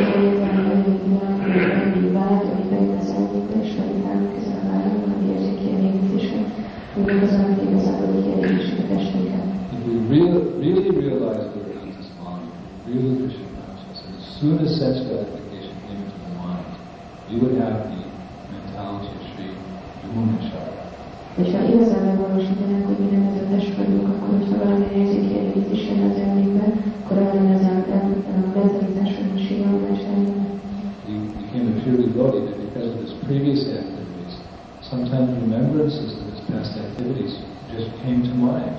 egy vágy, amiben az elménkbe és meditálunk ezen a vágyon, ami érzéki elégítésen, amíg az amit igazából kielégítsük a testünket. If we really realize that we're not this body, really Krishna consciousness, and as soon as sense gratification came into the mind, we would have the mentality of Sri Yamunacharya. Hogyha igazán megvalósítanánk, hogy mi nem ez a test vagyunk, akkor hogyha valami érzéki elégítés jön az elménkben, akkor arra az mentalitás, hogy Sri Yamunacharya. We became a pure devotee that because of his previous activities, sometimes remembrances of his past activities just came to mind.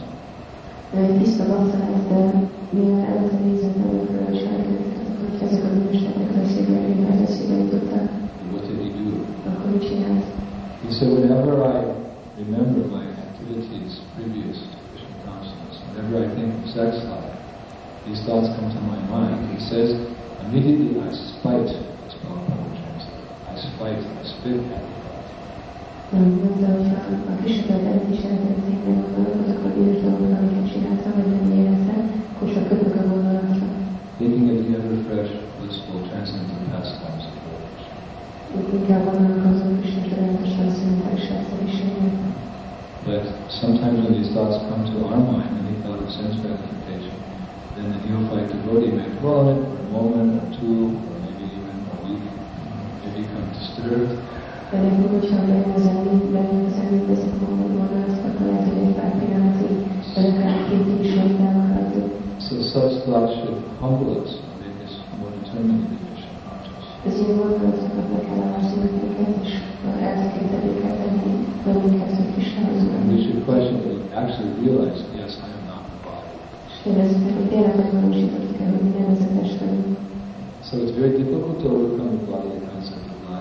Tiszta bakta lett, de mivel előtte nézett előkről a cselekedeteket, hogy ezek a bűnöstetnek az eszébe jutottak. What did he do? Akkor mit csinált? He said, whenever I remember my activities previous to Krishna consciousness, whenever I think of sex life, these thoughts come to my mind. He says, immediately I spite, as Prabhupada translated. I spite, I spit at the thought. Mondta, hogy a Krishna-t is eltették azok a bűnös dolgok, amiket csináltam, vagy nem életem, akkor csak kötök a gondolatra. Thinking of the ever fresh, blissful, transcendental pastimes of Lord Krishna. Inkább gondolkozom Krishna csodálatos transzendentális átszerűségnek. But sometimes when these thoughts come to our mind, any thought of sense gratification, then the neophyte devotee may dwell on it for a moment or two, or maybe even a week, may become disturbed. Pedig, hogyha bejön az elmébe ezek a gondolatok, akkor lehet, hogy egy pár pillanatig, vagy akár 2 is megtámadható. So such thoughts should humble us and make us more determined to be Krishna conscious. Ez ilyen gondolatokat meg kell elárszolni őket, és eltekintetőket tenni bennünket, hogy Krishnához And we should question that we actually realize, yes, I am not the body. És kérdezzük meg, hogy tényleg megvalósítottuk el, hogy mi nem ez a test vagyunk. So it's very difficult to overcome the bodily concept of life.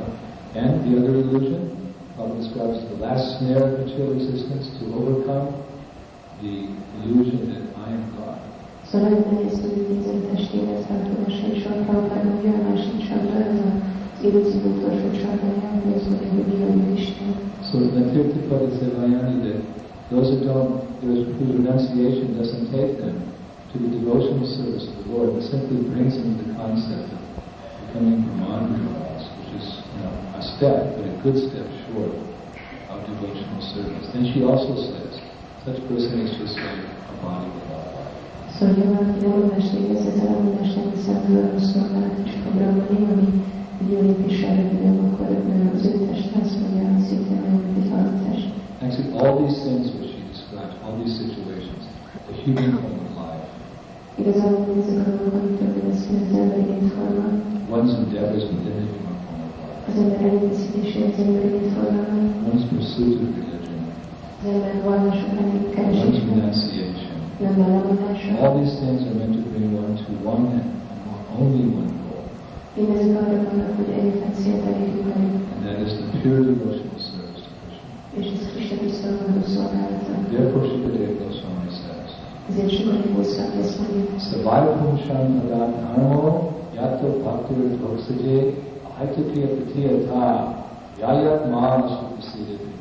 And the other illusion, Prabhupada describes the last snare of material resistance to overcome the illusion that I am God. Szóval nagyon nehéz tudni a testélet feltudása, és a Prabhupada mondja, a másik csapda, ez az illúzió utolsó csapdája, hogy az mondja, hogy Isten Isten. So the Tirthapada Sevayani, that those whose renunciation doesn't take them to the devotional service of the Lord, but simply brings them the concept of becoming Brahmana, which is a step, but a good step short of devotional service. Then she also says, such person is just like a body without life. Szóval valaki lemondást végez, ez a lemondás nem viszont a szolgálat és a brahmani, ami egy jó lépéssel rövidebb, akkor az ő test lesz, vagy a szintén olyan, mint egy halotás. Actually, all these things which she describes, all these situations, the human form of life, Igazából ezek a dolgok, amikről beszél az emberi létforma, one's endeavors within the human form of life, az ember erőfeszítése az emberi létformában, one's pursuit of religion, az ember vallások one's keresése, renunciation. nem a lemondása. All these things are meant to bring one to one and only one goal, Mindezek arra vannak, hogy egyetlen célt elérjük velük, and that is the pure devotional service to Krishna. és ez Krishna tiszteletben szolgálata. Therefore, Shukadeva Goswami says, Ezért sokan hozzák ezt mondjuk. Savayapum Shan Adat Armo Yato Bhaktir Dhoksaje Aitokya Pratiyata Yayat Mala Supasidati.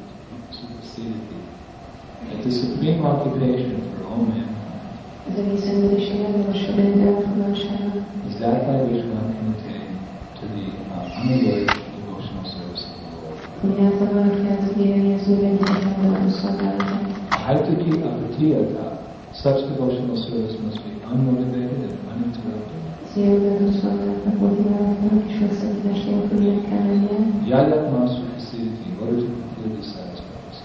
That the supreme occupation for all mankind Az egész emberiség legmagasabb rend elfoglalására is that by which one can attain to the unalloyed devotional service of the Lord. ami által valaki el tud érni az ő megnyitható szolgálatot. Aitokya Pratiyata. Such devotional service must be unmotivated and uninterrupted. Yayat Masu Facility in order to completely satisfy us.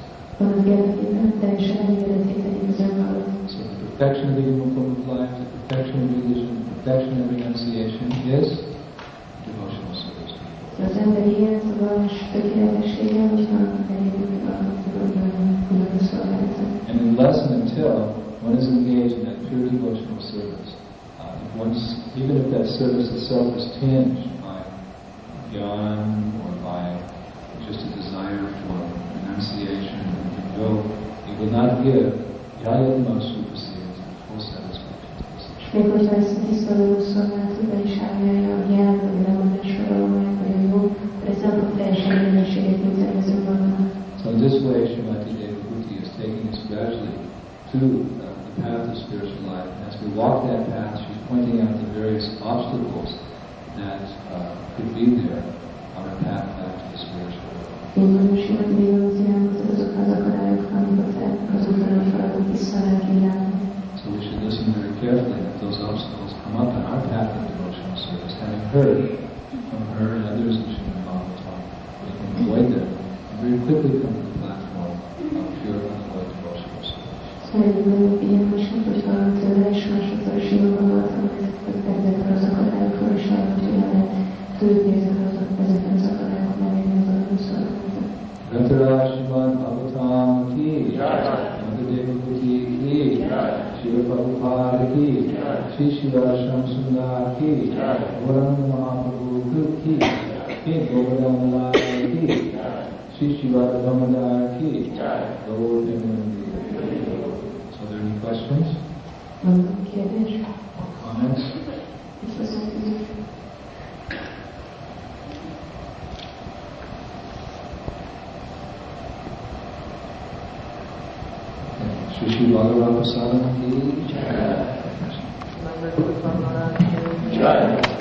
So the perfection of the human form of life, the perfection of religion, the perfection of renunciation is devotional service. Az emberi élet, a vallás tökéletessége, hogyha elérjük a szolgálatot. And unless and until one is engaged in that pure devotional service, even if that service itself is tinged by jnana or by just a desire for renunciation or it will not give yayat masu facility, full satisfaction. Még hogyha ezt a tisztelő szolgálatban is állja a jel, vagy a lemondásra valójában, vagy a jó, akkor ez nem fog teljesen minőséget nyújtani az önmagnak. So in this way, Srimati Devahuti is taking us gradually to the path of spiritual life. And as we walk that path, she's pointing out the various obstacles that could be there on our path back to the spiritual world. Én valósulok Dévahuti azok az akadályok, amiket az utána feladunk vissza a lelki világba. So we should listen very carefully if those obstacles come up on our path of devotional service. Having heard from her and others in Srimad Bhagavatam, we can avoid them and very quickly come to the platform of pure unavoid devotional service. Szerintem nagyon figyelmesek, hogyha tőle és másoktól is jól voltam, ezekről az akadályokról is lehet, hogy lehet tudni ezekről az akadályokról elérni az adó szolgálatot. Grantaraj Srimad Bhagavatam ki, Nandadeva Kuti ki, Shri Prabhupada ki, Shri Shivasam Sundar ki, Gauranga Mahaprabhu ki, Ki Govardhan Lal ki, Shri Shivada Damodar ki, Gaur Devanandi. So are there any questions? Van kérdés? Comments? Shri Shri Bhagavatam Prasadam ki. Jai.